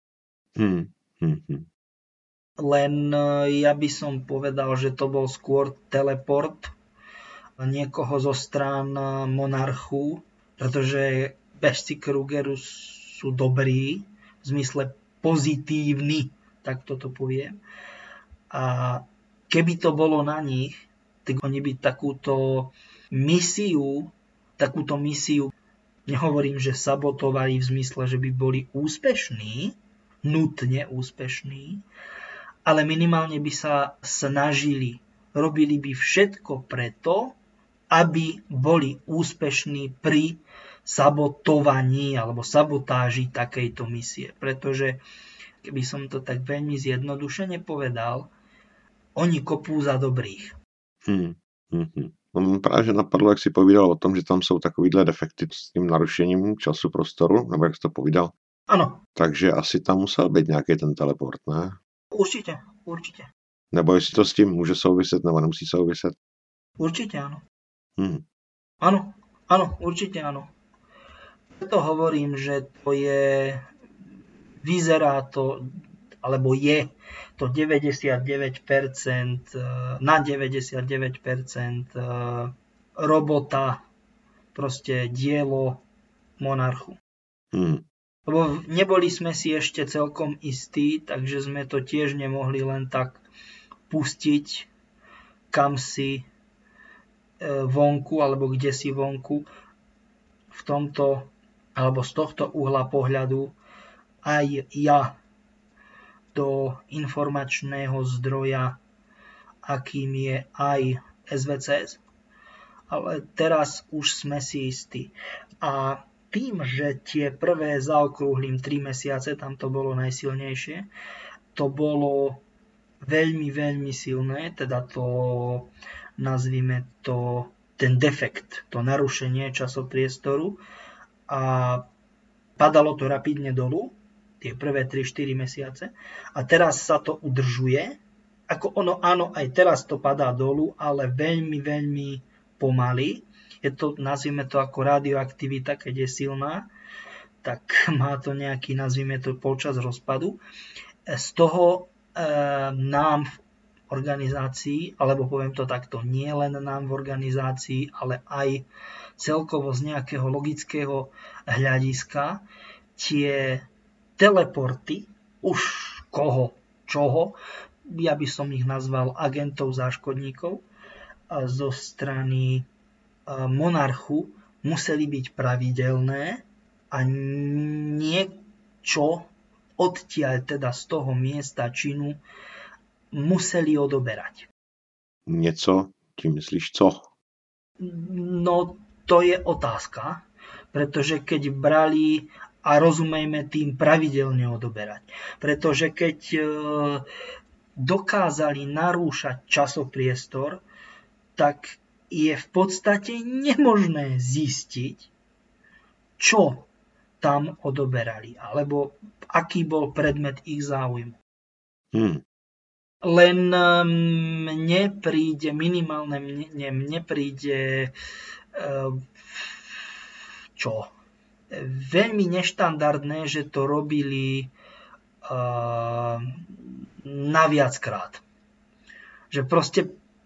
[SPEAKER 3] Len ja by som povedal, že to bol skôr teleport niekoho zo strán monarchu, pretože bežci Krugeru sú dobrí, v zmysle pozitívni, tak toto poviem. A keby to bolo na nich, tak oni by takúto misiu, nehovorím, že sabotovali v zmysle, že by boli úspešní, nutne úspešní, ale minimálne by sa snažili, robili by všetko preto, aby boli úspešní pri sabotovaní alebo sabotáži takejto misie. Pretože, keby som to tak veľmi zjednodušene povedal, oni kopú za dobrých.
[SPEAKER 1] Právě že napadlo, jak si povídal o tom, že tam jsou takovýhle defekty s tím narušením času prostoru, nebo jak jsi to povídal.
[SPEAKER 3] Ano.
[SPEAKER 1] Takže asi tam musel být nějaký ten teleport, ne?
[SPEAKER 3] Určite.
[SPEAKER 1] Nebo jestli to s tím může souviset, nebo nemusí souviset?
[SPEAKER 3] Určite áno. Áno, určite áno. Preto hovorím, že to vyzerá to, alebo je to 99%, na 99% robota, proste dielo monarchu. Lebo neboli sme si ešte celkom istí, takže sme to tiež nemohli len tak pustiť kam si vonku, alebo kde si vonku. V tomto, alebo z tohto uhla pohľadu aj ja do informačného zdroja, akým je aj SVCS. Ale teraz už sme si istí. A tým, že tie prvé zaokrúhlim 3 mesiace, tam to bolo najsilnejšie, to bolo veľmi, veľmi silné, teda to, nazvime to, ten defekt, to narušenie časopriestoru, a padalo to rapidne dolu, tie prvé 3-4 mesiace, a teraz sa to udržuje, ako ono, áno, aj teraz to padá dolu, ale veľmi, veľmi pomaly. Je to, nazvime to ako radioaktivita, keď je silná, tak má to nejaký, nazvime to, počas rozpadu. Z toho nám v organizácii, alebo poviem to takto, nie len nám v organizácii, ale aj celkovo z nejakého logického hľadiska, tie teleporty, už koho, čoho, ja by som ich nazval agentov záškodníkov, zo strany monarchu museli byť pravidelné a niečo odtiaľ, teda z toho miesta činu, museli odoberať.
[SPEAKER 1] Něco? Tím myslíš co?
[SPEAKER 3] No, to je otázka, pretože keď brali, a rozumejme tým pravidelne odoberať, pretože keď dokázali narúšať časopriestor, tak je v podstate nemožné zistiť, čo tam odoberali, alebo aký bol predmet ich záujmu. Len mne príde veľmi neštandardné, že to robili naviackrát. Že proste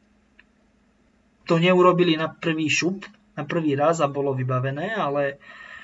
[SPEAKER 3] to neurobili na prvý šup, na prvý raz a bolo vybavené, ale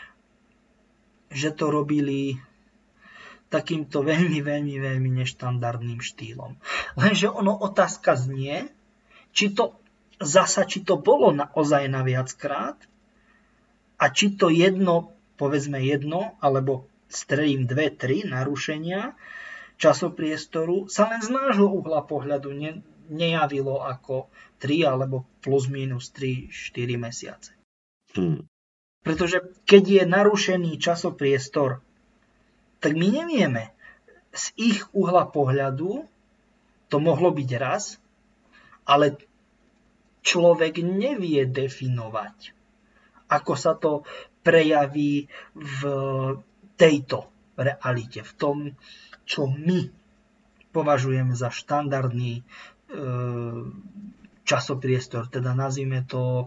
[SPEAKER 3] že to robili takýmto veľmi neštandardným štýlom. Lenže otázka znie, či to bolo naozaj na viackrát a či to povedzme jedno, alebo strelím 2-3 narušenia časopriestoru sa len z nášho uhla pohľadu nejavilo ako 3 alebo plus minus 3-4 mesiace. Pretože keď je narušený časopriestor, tak my nevieme. Z ich uhla pohľadu to mohlo byť raz, ale človek nevie definovať, ako sa to prejaví v tejto realite, v tom, čo my považujeme za štandardný časopriestor, teda nazvime to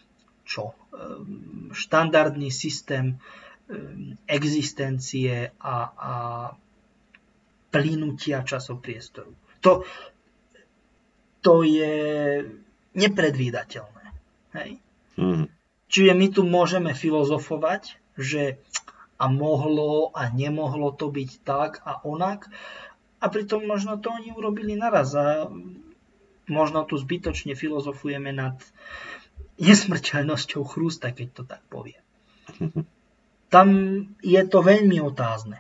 [SPEAKER 3] štandardný systém existencie a plynutia časopriestoru. To je nepredvídateľné. Hej? Čiže my tu môžeme filozofovať, že a mohlo a nemohlo to byť tak a onak, a pritom možno to oni urobili naraz a možno tu zbytočne filozofujeme nad nesmrteľnosťou chrústa, keď to tak poviem. Tam je to veľmi otázne.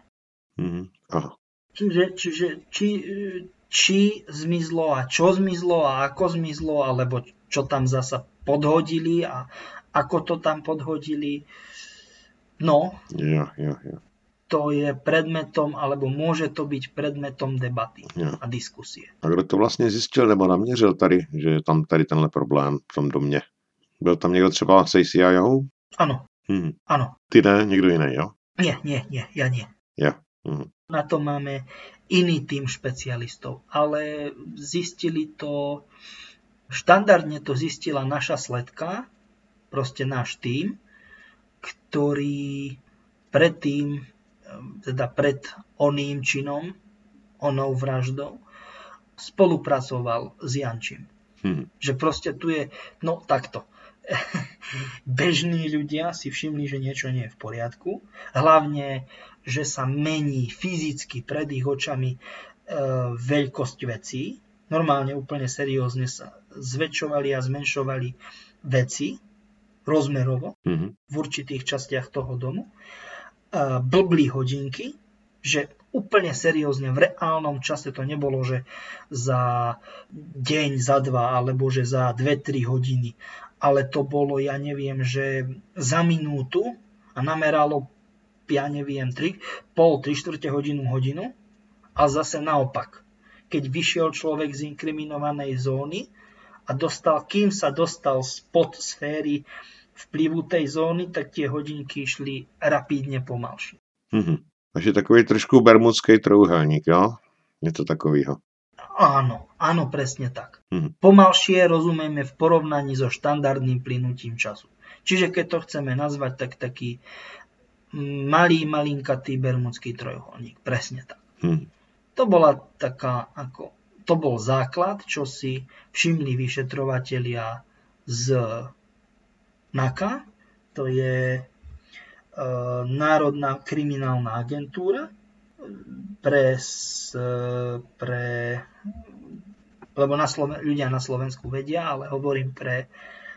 [SPEAKER 3] Čiže či zmizlo a čo zmizlo a ako zmizlo, alebo čo tam zasa podhodili a ako to tam podhodili. No, to je predmetom, alebo môže to byť predmetom debaty a diskusie.
[SPEAKER 1] A kdo to vlastně zjistil nebo naměřil tady, že je tam tady tenhle problém v tom domě? Byl tam někdo třeba z ACIO?
[SPEAKER 3] Áno. Áno.
[SPEAKER 1] Ty ne, někdo jiný, jo?
[SPEAKER 3] Nie, ja nie. Na to máme iný tým špecialistov, ale zistili to, štandardne to zistila naša sledka, proste náš tým, ktorý predtým, teda pred oným činom, onou vraždou, spolupracoval s Jančím. Že proste tu je, takto. Bežní ľudia si všimli, že niečo nie je v poriadku. Hlavne, že sa mení fyzicky pred ich očami veľkosť vecí. Normálne úplne seriózne sa zväčšovali a zmenšovali veci rozmerovo v určitých častiach toho domu. Blbli hodinky, že úplne seriózne v reálnom čase to nebolo, že za deň, za dva, alebo že za 2-3 hodiny, ale to bolo, ja neviem, že za minútu a nameralo, ja neviem, 3/4 hodinu a zase naopak. Keď vyšiel človek z inkriminovanej zóny a kým sa dostal spod sféry vplyvu tej zóny, tak tie hodinky išli rapidne pomalšie.
[SPEAKER 1] Takže takový trošku bermudský trojuhelník, jo? Něco takového.
[SPEAKER 3] Áno, presne tak. Pomalšie rozumieme v porovnaní so štandardným plynutím času. Čiže keď to chceme nazvať, tak taký malinkatý bermudský trojuholník. Presne tak. To bola to bol základ, čo si všimli vyšetrovatelia z NACA, to je Národná kriminálna agentúra, lebo ľudia na Slovensku vedia, ale hovorím pre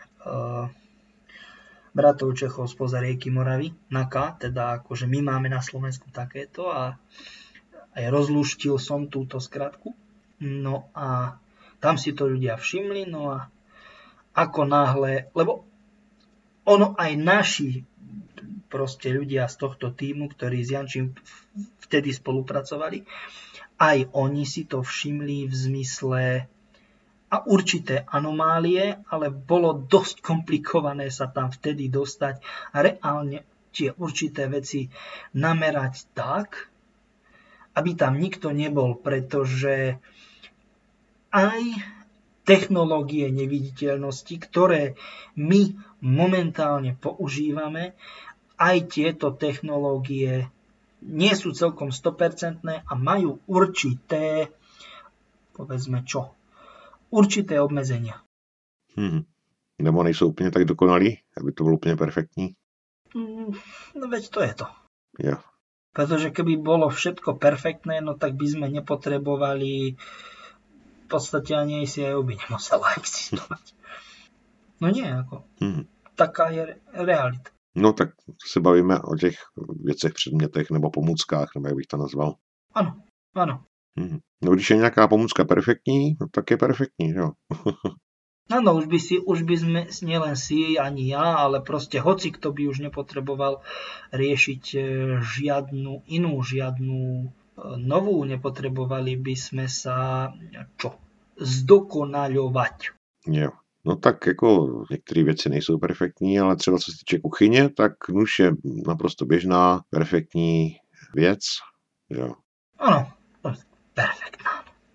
[SPEAKER 3] bratov Čechov spoza rieky Moravy, NACA, teda akože my máme na Slovensku takéto a aj rozlúštil som túto skratku. No a tam si to ľudia všimli, no a ako náhle, lebo ono aj naši proste ľudia z tohto týmu, ktorí s Jančím vtedy spolupracovali, aj oni si to všimli v zmysle a určité anomálie, ale bolo dosť komplikované sa tam vtedy dostať a reálne tie určité veci namerať tak, aby tam nikto nebol, pretože aj technológie neviditeľnosti, ktoré my momentálne používame, aj tieto technológie nie sú celkom 100% a majú určité, povedzme čo, určité obmedzenia.
[SPEAKER 1] Nebo nejsou úplně tak dokonalí, aby to bylo úplně perfektní?
[SPEAKER 3] No veď to je to.
[SPEAKER 1] Jo.
[SPEAKER 3] Pretože keby bolo všetko perfektné, no tak by sme nepotrebovali, v podstate ani ACIO by nemusela existovať. No nie, ako. Taká je realita.
[SPEAKER 1] No tak se bavíme o těch věcech, předmětech nebo pomůckách, nebo jak bych to nazval.
[SPEAKER 3] Áno, áno.
[SPEAKER 1] No když je nějaká pomůcka perfektní, no tak je perfektní, jo.
[SPEAKER 3] Áno, už by sme, nielen si, ani ja, ale proste hoci kto by už nepotreboval riešiť žiadnu novú, nepotrebovali by sme sa zdokonaľovať.
[SPEAKER 1] Jo. No tak jako některé věci nejsou perfektní, ale třeba co se týče kuchyně, tak nůž je naprosto běžná, perfektní věc, jo.
[SPEAKER 3] Áno, perfektná.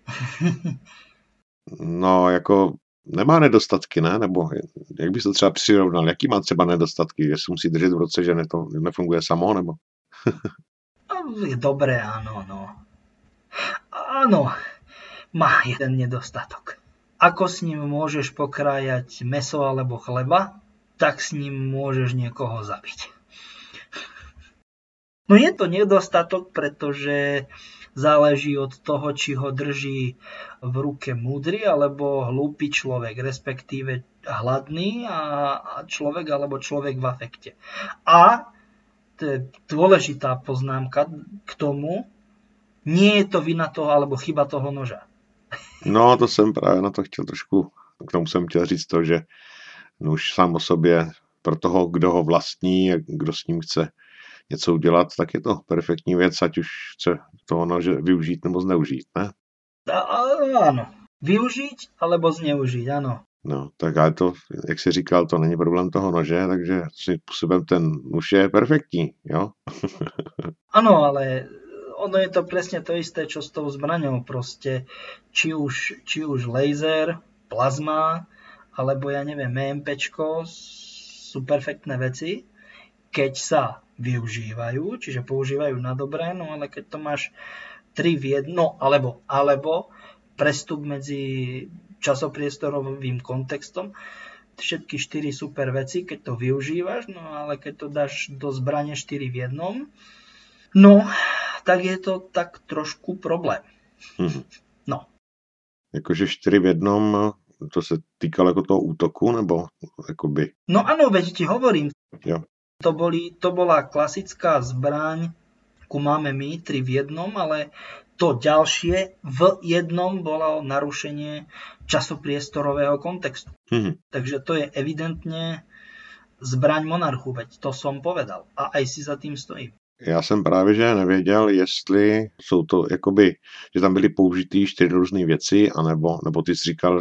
[SPEAKER 1] No jako nemá nedostatky, ne? Nebo jak bys to třeba přirovnal? Jaký má třeba nedostatky? Že se musí držet v ruce, že to nefunguje samo, nebo?
[SPEAKER 3] Dobre, áno, no. Áno, má jeden nedostatok. Ako s ním môžeš pokrájať mäso alebo chleba, tak s ním môžeš niekoho zabiť. No je to nedostatok, pretože záleží od toho, či ho drží v ruke múdry alebo hlúpy človek, respektíve hladný a človek alebo človek v afekte. A to je dôležitá poznámka k tomu, nie je to vina toho alebo chyba toho noža.
[SPEAKER 1] No to jsem právě na to chtěl trošku, k tomu jsem chtěl říct to, že nůž sám o sobě pro toho, kdo ho vlastní a kdo s ním chce něco udělat, tak je to perfektní věc, ať už chce toho nože využít nebo zneužít, ne?
[SPEAKER 3] Áno, využiť alebo zneužiť, áno.
[SPEAKER 1] No, tak ale to, jak jsi říkal, to není problém toho nože, takže svým způsobem ten nůž je perfektní, jo?
[SPEAKER 3] Áno, ale ono je to presne to isté, čo s tou zbraňou, proste, či už laser, plazma, alebo ja neviem, EMPčko, sú perfektné veci, keď sa využívajú, čiže používajú na dobré, no ale keď to máš 3 v 1, alebo prestup medzi časopriestorovým kontextom, všetky 4 super veci, keď to využívaš, no ale keď to dáš do zbrane 4 v 1, no, tak je to tak trošku problém. No. Jakože
[SPEAKER 1] 4 v 1, to se týkalo jako toho útoku, nebo jakoby?
[SPEAKER 3] No áno, veď ti hovorím.
[SPEAKER 1] Jo.
[SPEAKER 3] To bola klasická zbraň, ku máme my 3 v 1, ale to ďalšie v 1 bolo narušenie časopriestorového kontextu. Takže to je evidentne zbraň monarchu, veď to som povedal. A aj si za tým stojím.
[SPEAKER 1] Já jsem právě že nevěděl, jestli jsou to jakoby, že tam byly použitý 4 různé věci, nebo ty jsi říkal...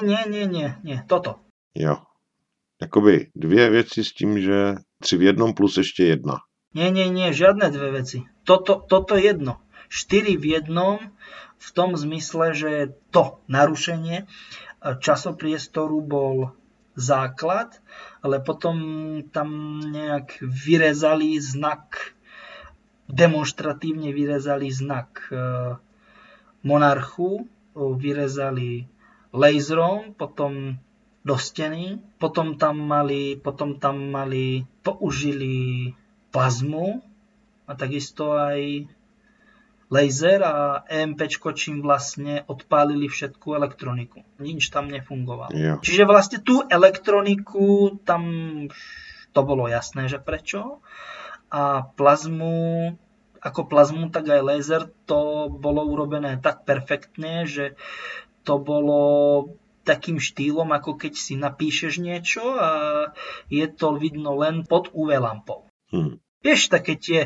[SPEAKER 3] Nie, toto.
[SPEAKER 1] Jo. Jakoby 2 věci s tím, že 3 v 1 plus ještě 1.
[SPEAKER 3] Nie, žiadne 2 veci. Toto jedno. 4 v 1 v tom zmysle, že to narušenie časopriestoru bol základ, ale potom tam nejak vyrezali znak, demonstratívne vyrezali znak monarchu, vyrezali laserom, potom do steny, potom tam použili plazmu a takisto aj laser a EMPčko, čím vlastne odpálili všetku elektroniku. Nič tam nefungovalo.
[SPEAKER 1] Jo.
[SPEAKER 3] Čiže vlastne tú elektroniku, tam to bolo jasné, že prečo. A plazmu, tak aj laser, to bolo urobené tak perfektne, že to bolo takým štýlom, ako keď si napíšeš niečo a je to vidno len pod UV lampou. Vieš, také tie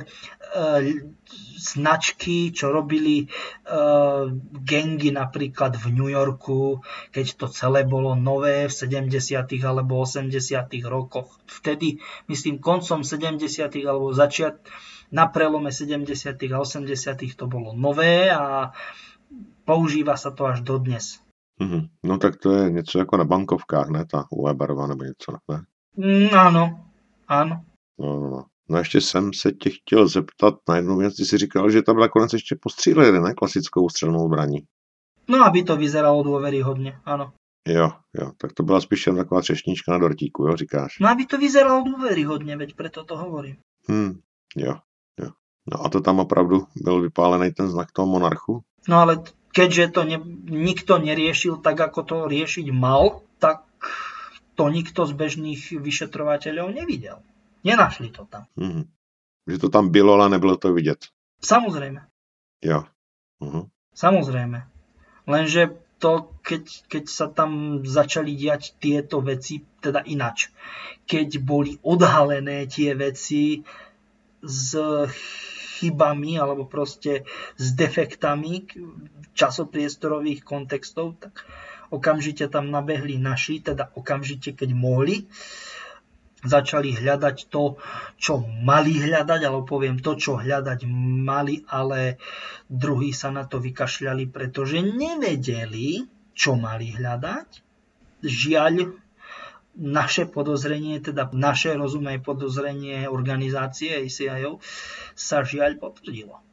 [SPEAKER 3] značky, čo robili gangy napríklad v New Yorku, keď to celé bolo nové v 70. alebo 80. rokoch. Vtedy, myslím, koncom 70. alebo na prelome 70. a 80. to bolo nové a používa sa to až dodnes.
[SPEAKER 1] No tak to je něco jako na bankovkách, ne? Ta UV barva nebo něco, ne?
[SPEAKER 3] Áno.
[SPEAKER 1] No ještě jsem se tě chtěl zeptat na jednu věc. Ty jsi říkal, že tam nakonec ještě postříleli, ne? Klasickou střelnou zbraní.
[SPEAKER 3] No, aby to vyzeralo dôveryhodne, áno.
[SPEAKER 1] Jo, tak to byla spíš jen taková třešnička na dortíku, jo, říkáš?
[SPEAKER 3] No, aby to vyzeralo dôveryhodne, veď preto to hovorím.
[SPEAKER 1] Jo. No a to tam opravdu byl vypálený ten znak toho monarchu?
[SPEAKER 3] No ale keďže to nikto neriešil tak, ako to riešiť mal, tak to nikto z bežných vyšetrovateľov nevidel. Nenašli to tam.
[SPEAKER 1] Že to tam bylo, ale nebylo to vidět.
[SPEAKER 3] Samozrejme.
[SPEAKER 1] Jo.
[SPEAKER 3] Samozrejme. Lenže to, keď sa tam začali diať tieto veci, teda inač. Keď boli odhalené tie veci s chybami alebo proste s defektami časopriestorových kontextov, tak okamžite tam nabehli naši, teda okamžite, keď mohli, začali hľadať to, čo mali hľadať, alebo poviem to, čo hľadať mali, ale druhí sa na to vykašľali, pretože nevedeli, čo mali hľadať. Žiaľ, naše podozrenie, teda naše rozumné podozrenie organizácie ACIO sa žiaľ potvrdilo.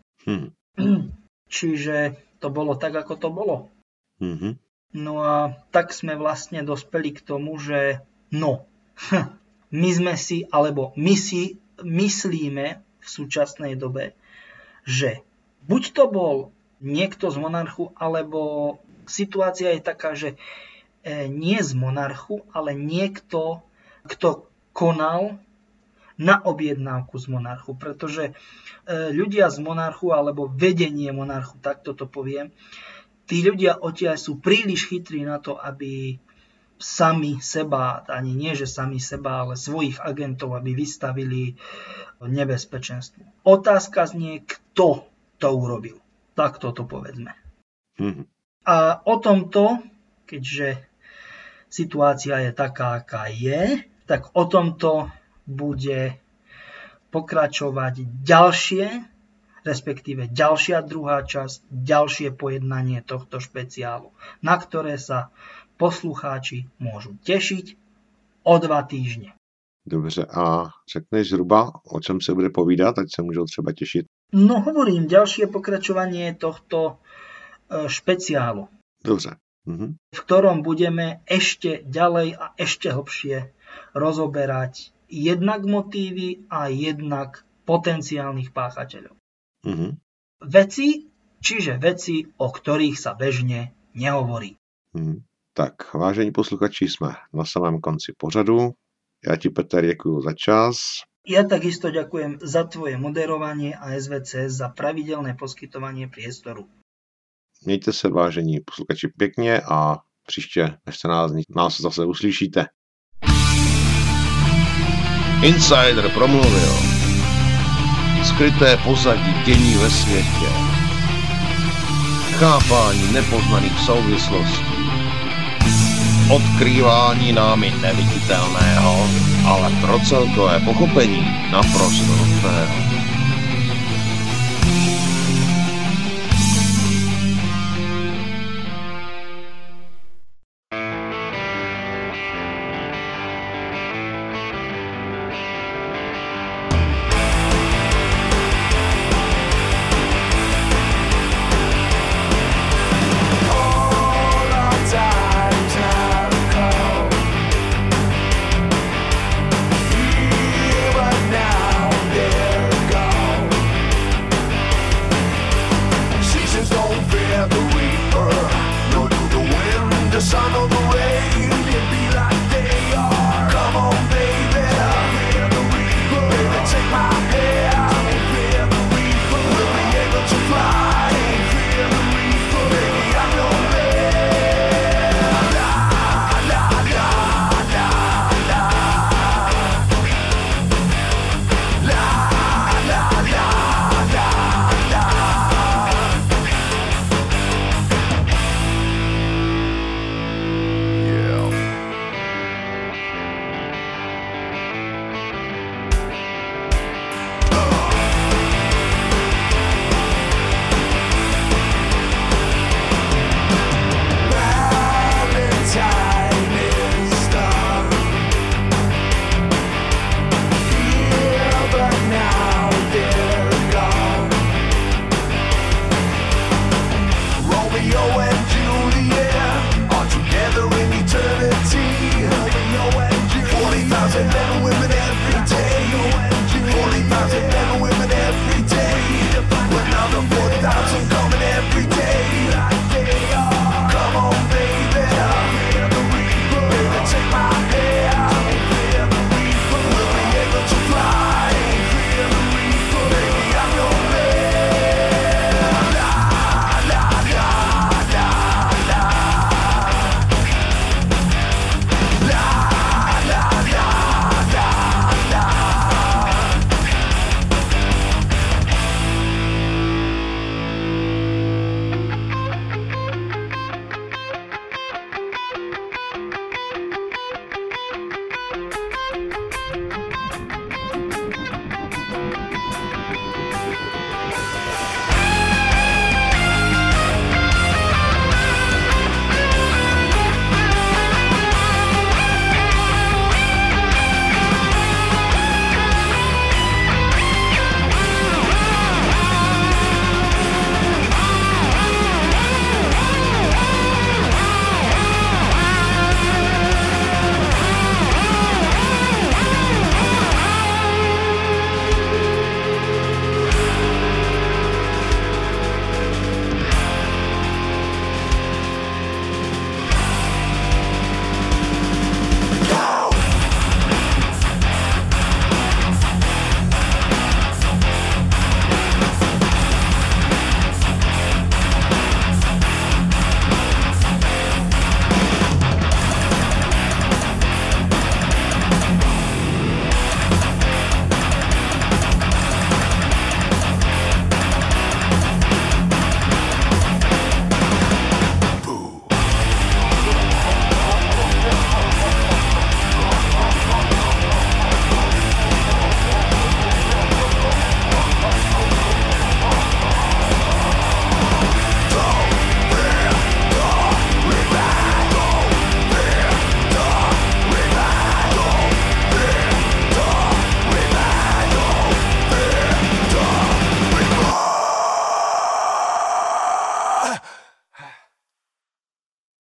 [SPEAKER 3] Čiže to bolo tak, ako to bolo. No a tak sme vlastne dospeli k tomu, že my si myslíme v súčasnej dobe, že buď to bol niekto z monarchu, alebo situácia je taká, že nie z monarchu, ale niekto, kto konal na objednávku z monarchu. Pretože ľudia z monarchu, alebo vedenie monarchu, takto to poviem, tí ľudia odtiaľ sú príliš chytrí na to, aby sami seba, ani nie, že sami seba, ale svojich agentov, aby vystavili nebezpečenstvu. Otázka znie, kto to urobil. Takto to povedzme. A o tomto, keďže situácia je taká, aká je, tak o tomto bude pokračovať respektíve ďalšia druhá časť, ďalšie pojednanie tohto špeciálu, na ktoré sa poslucháči môžu tešiť o 2 týždne.
[SPEAKER 1] Dobře, a řekneš zhruba, o čem se bude povídat, ať se můžou třeba těšit?
[SPEAKER 3] No hovorím, ďalšie pokračovanie tohto špeciálu.
[SPEAKER 1] Dobře.
[SPEAKER 3] V ktorom budeme ešte ďalej a ešte hlbšie rozoberať jednak motívy a jednak potenciálnych páchateľov. Veci, o ktorých sa bežne nehovorí.
[SPEAKER 1] Tak, vážení posluchači, jsme na samém konci pořadu. Já ti, Peter, děkuju za čas.
[SPEAKER 3] Ja takisto ďakujem za tvoje moderovanie a SVC za pravidelné poskytovanie priestoru.
[SPEAKER 1] Mějte se, vážení posluchači, pěkně a příště, než se nás zase uslyšíte.
[SPEAKER 5] Insider promluvil. Skryté pozadí dění ve světě. Chápání nepoznaných souvislostí. Odkrývání námi neviditelného, ale pro celkové pochopení naprosto nutného.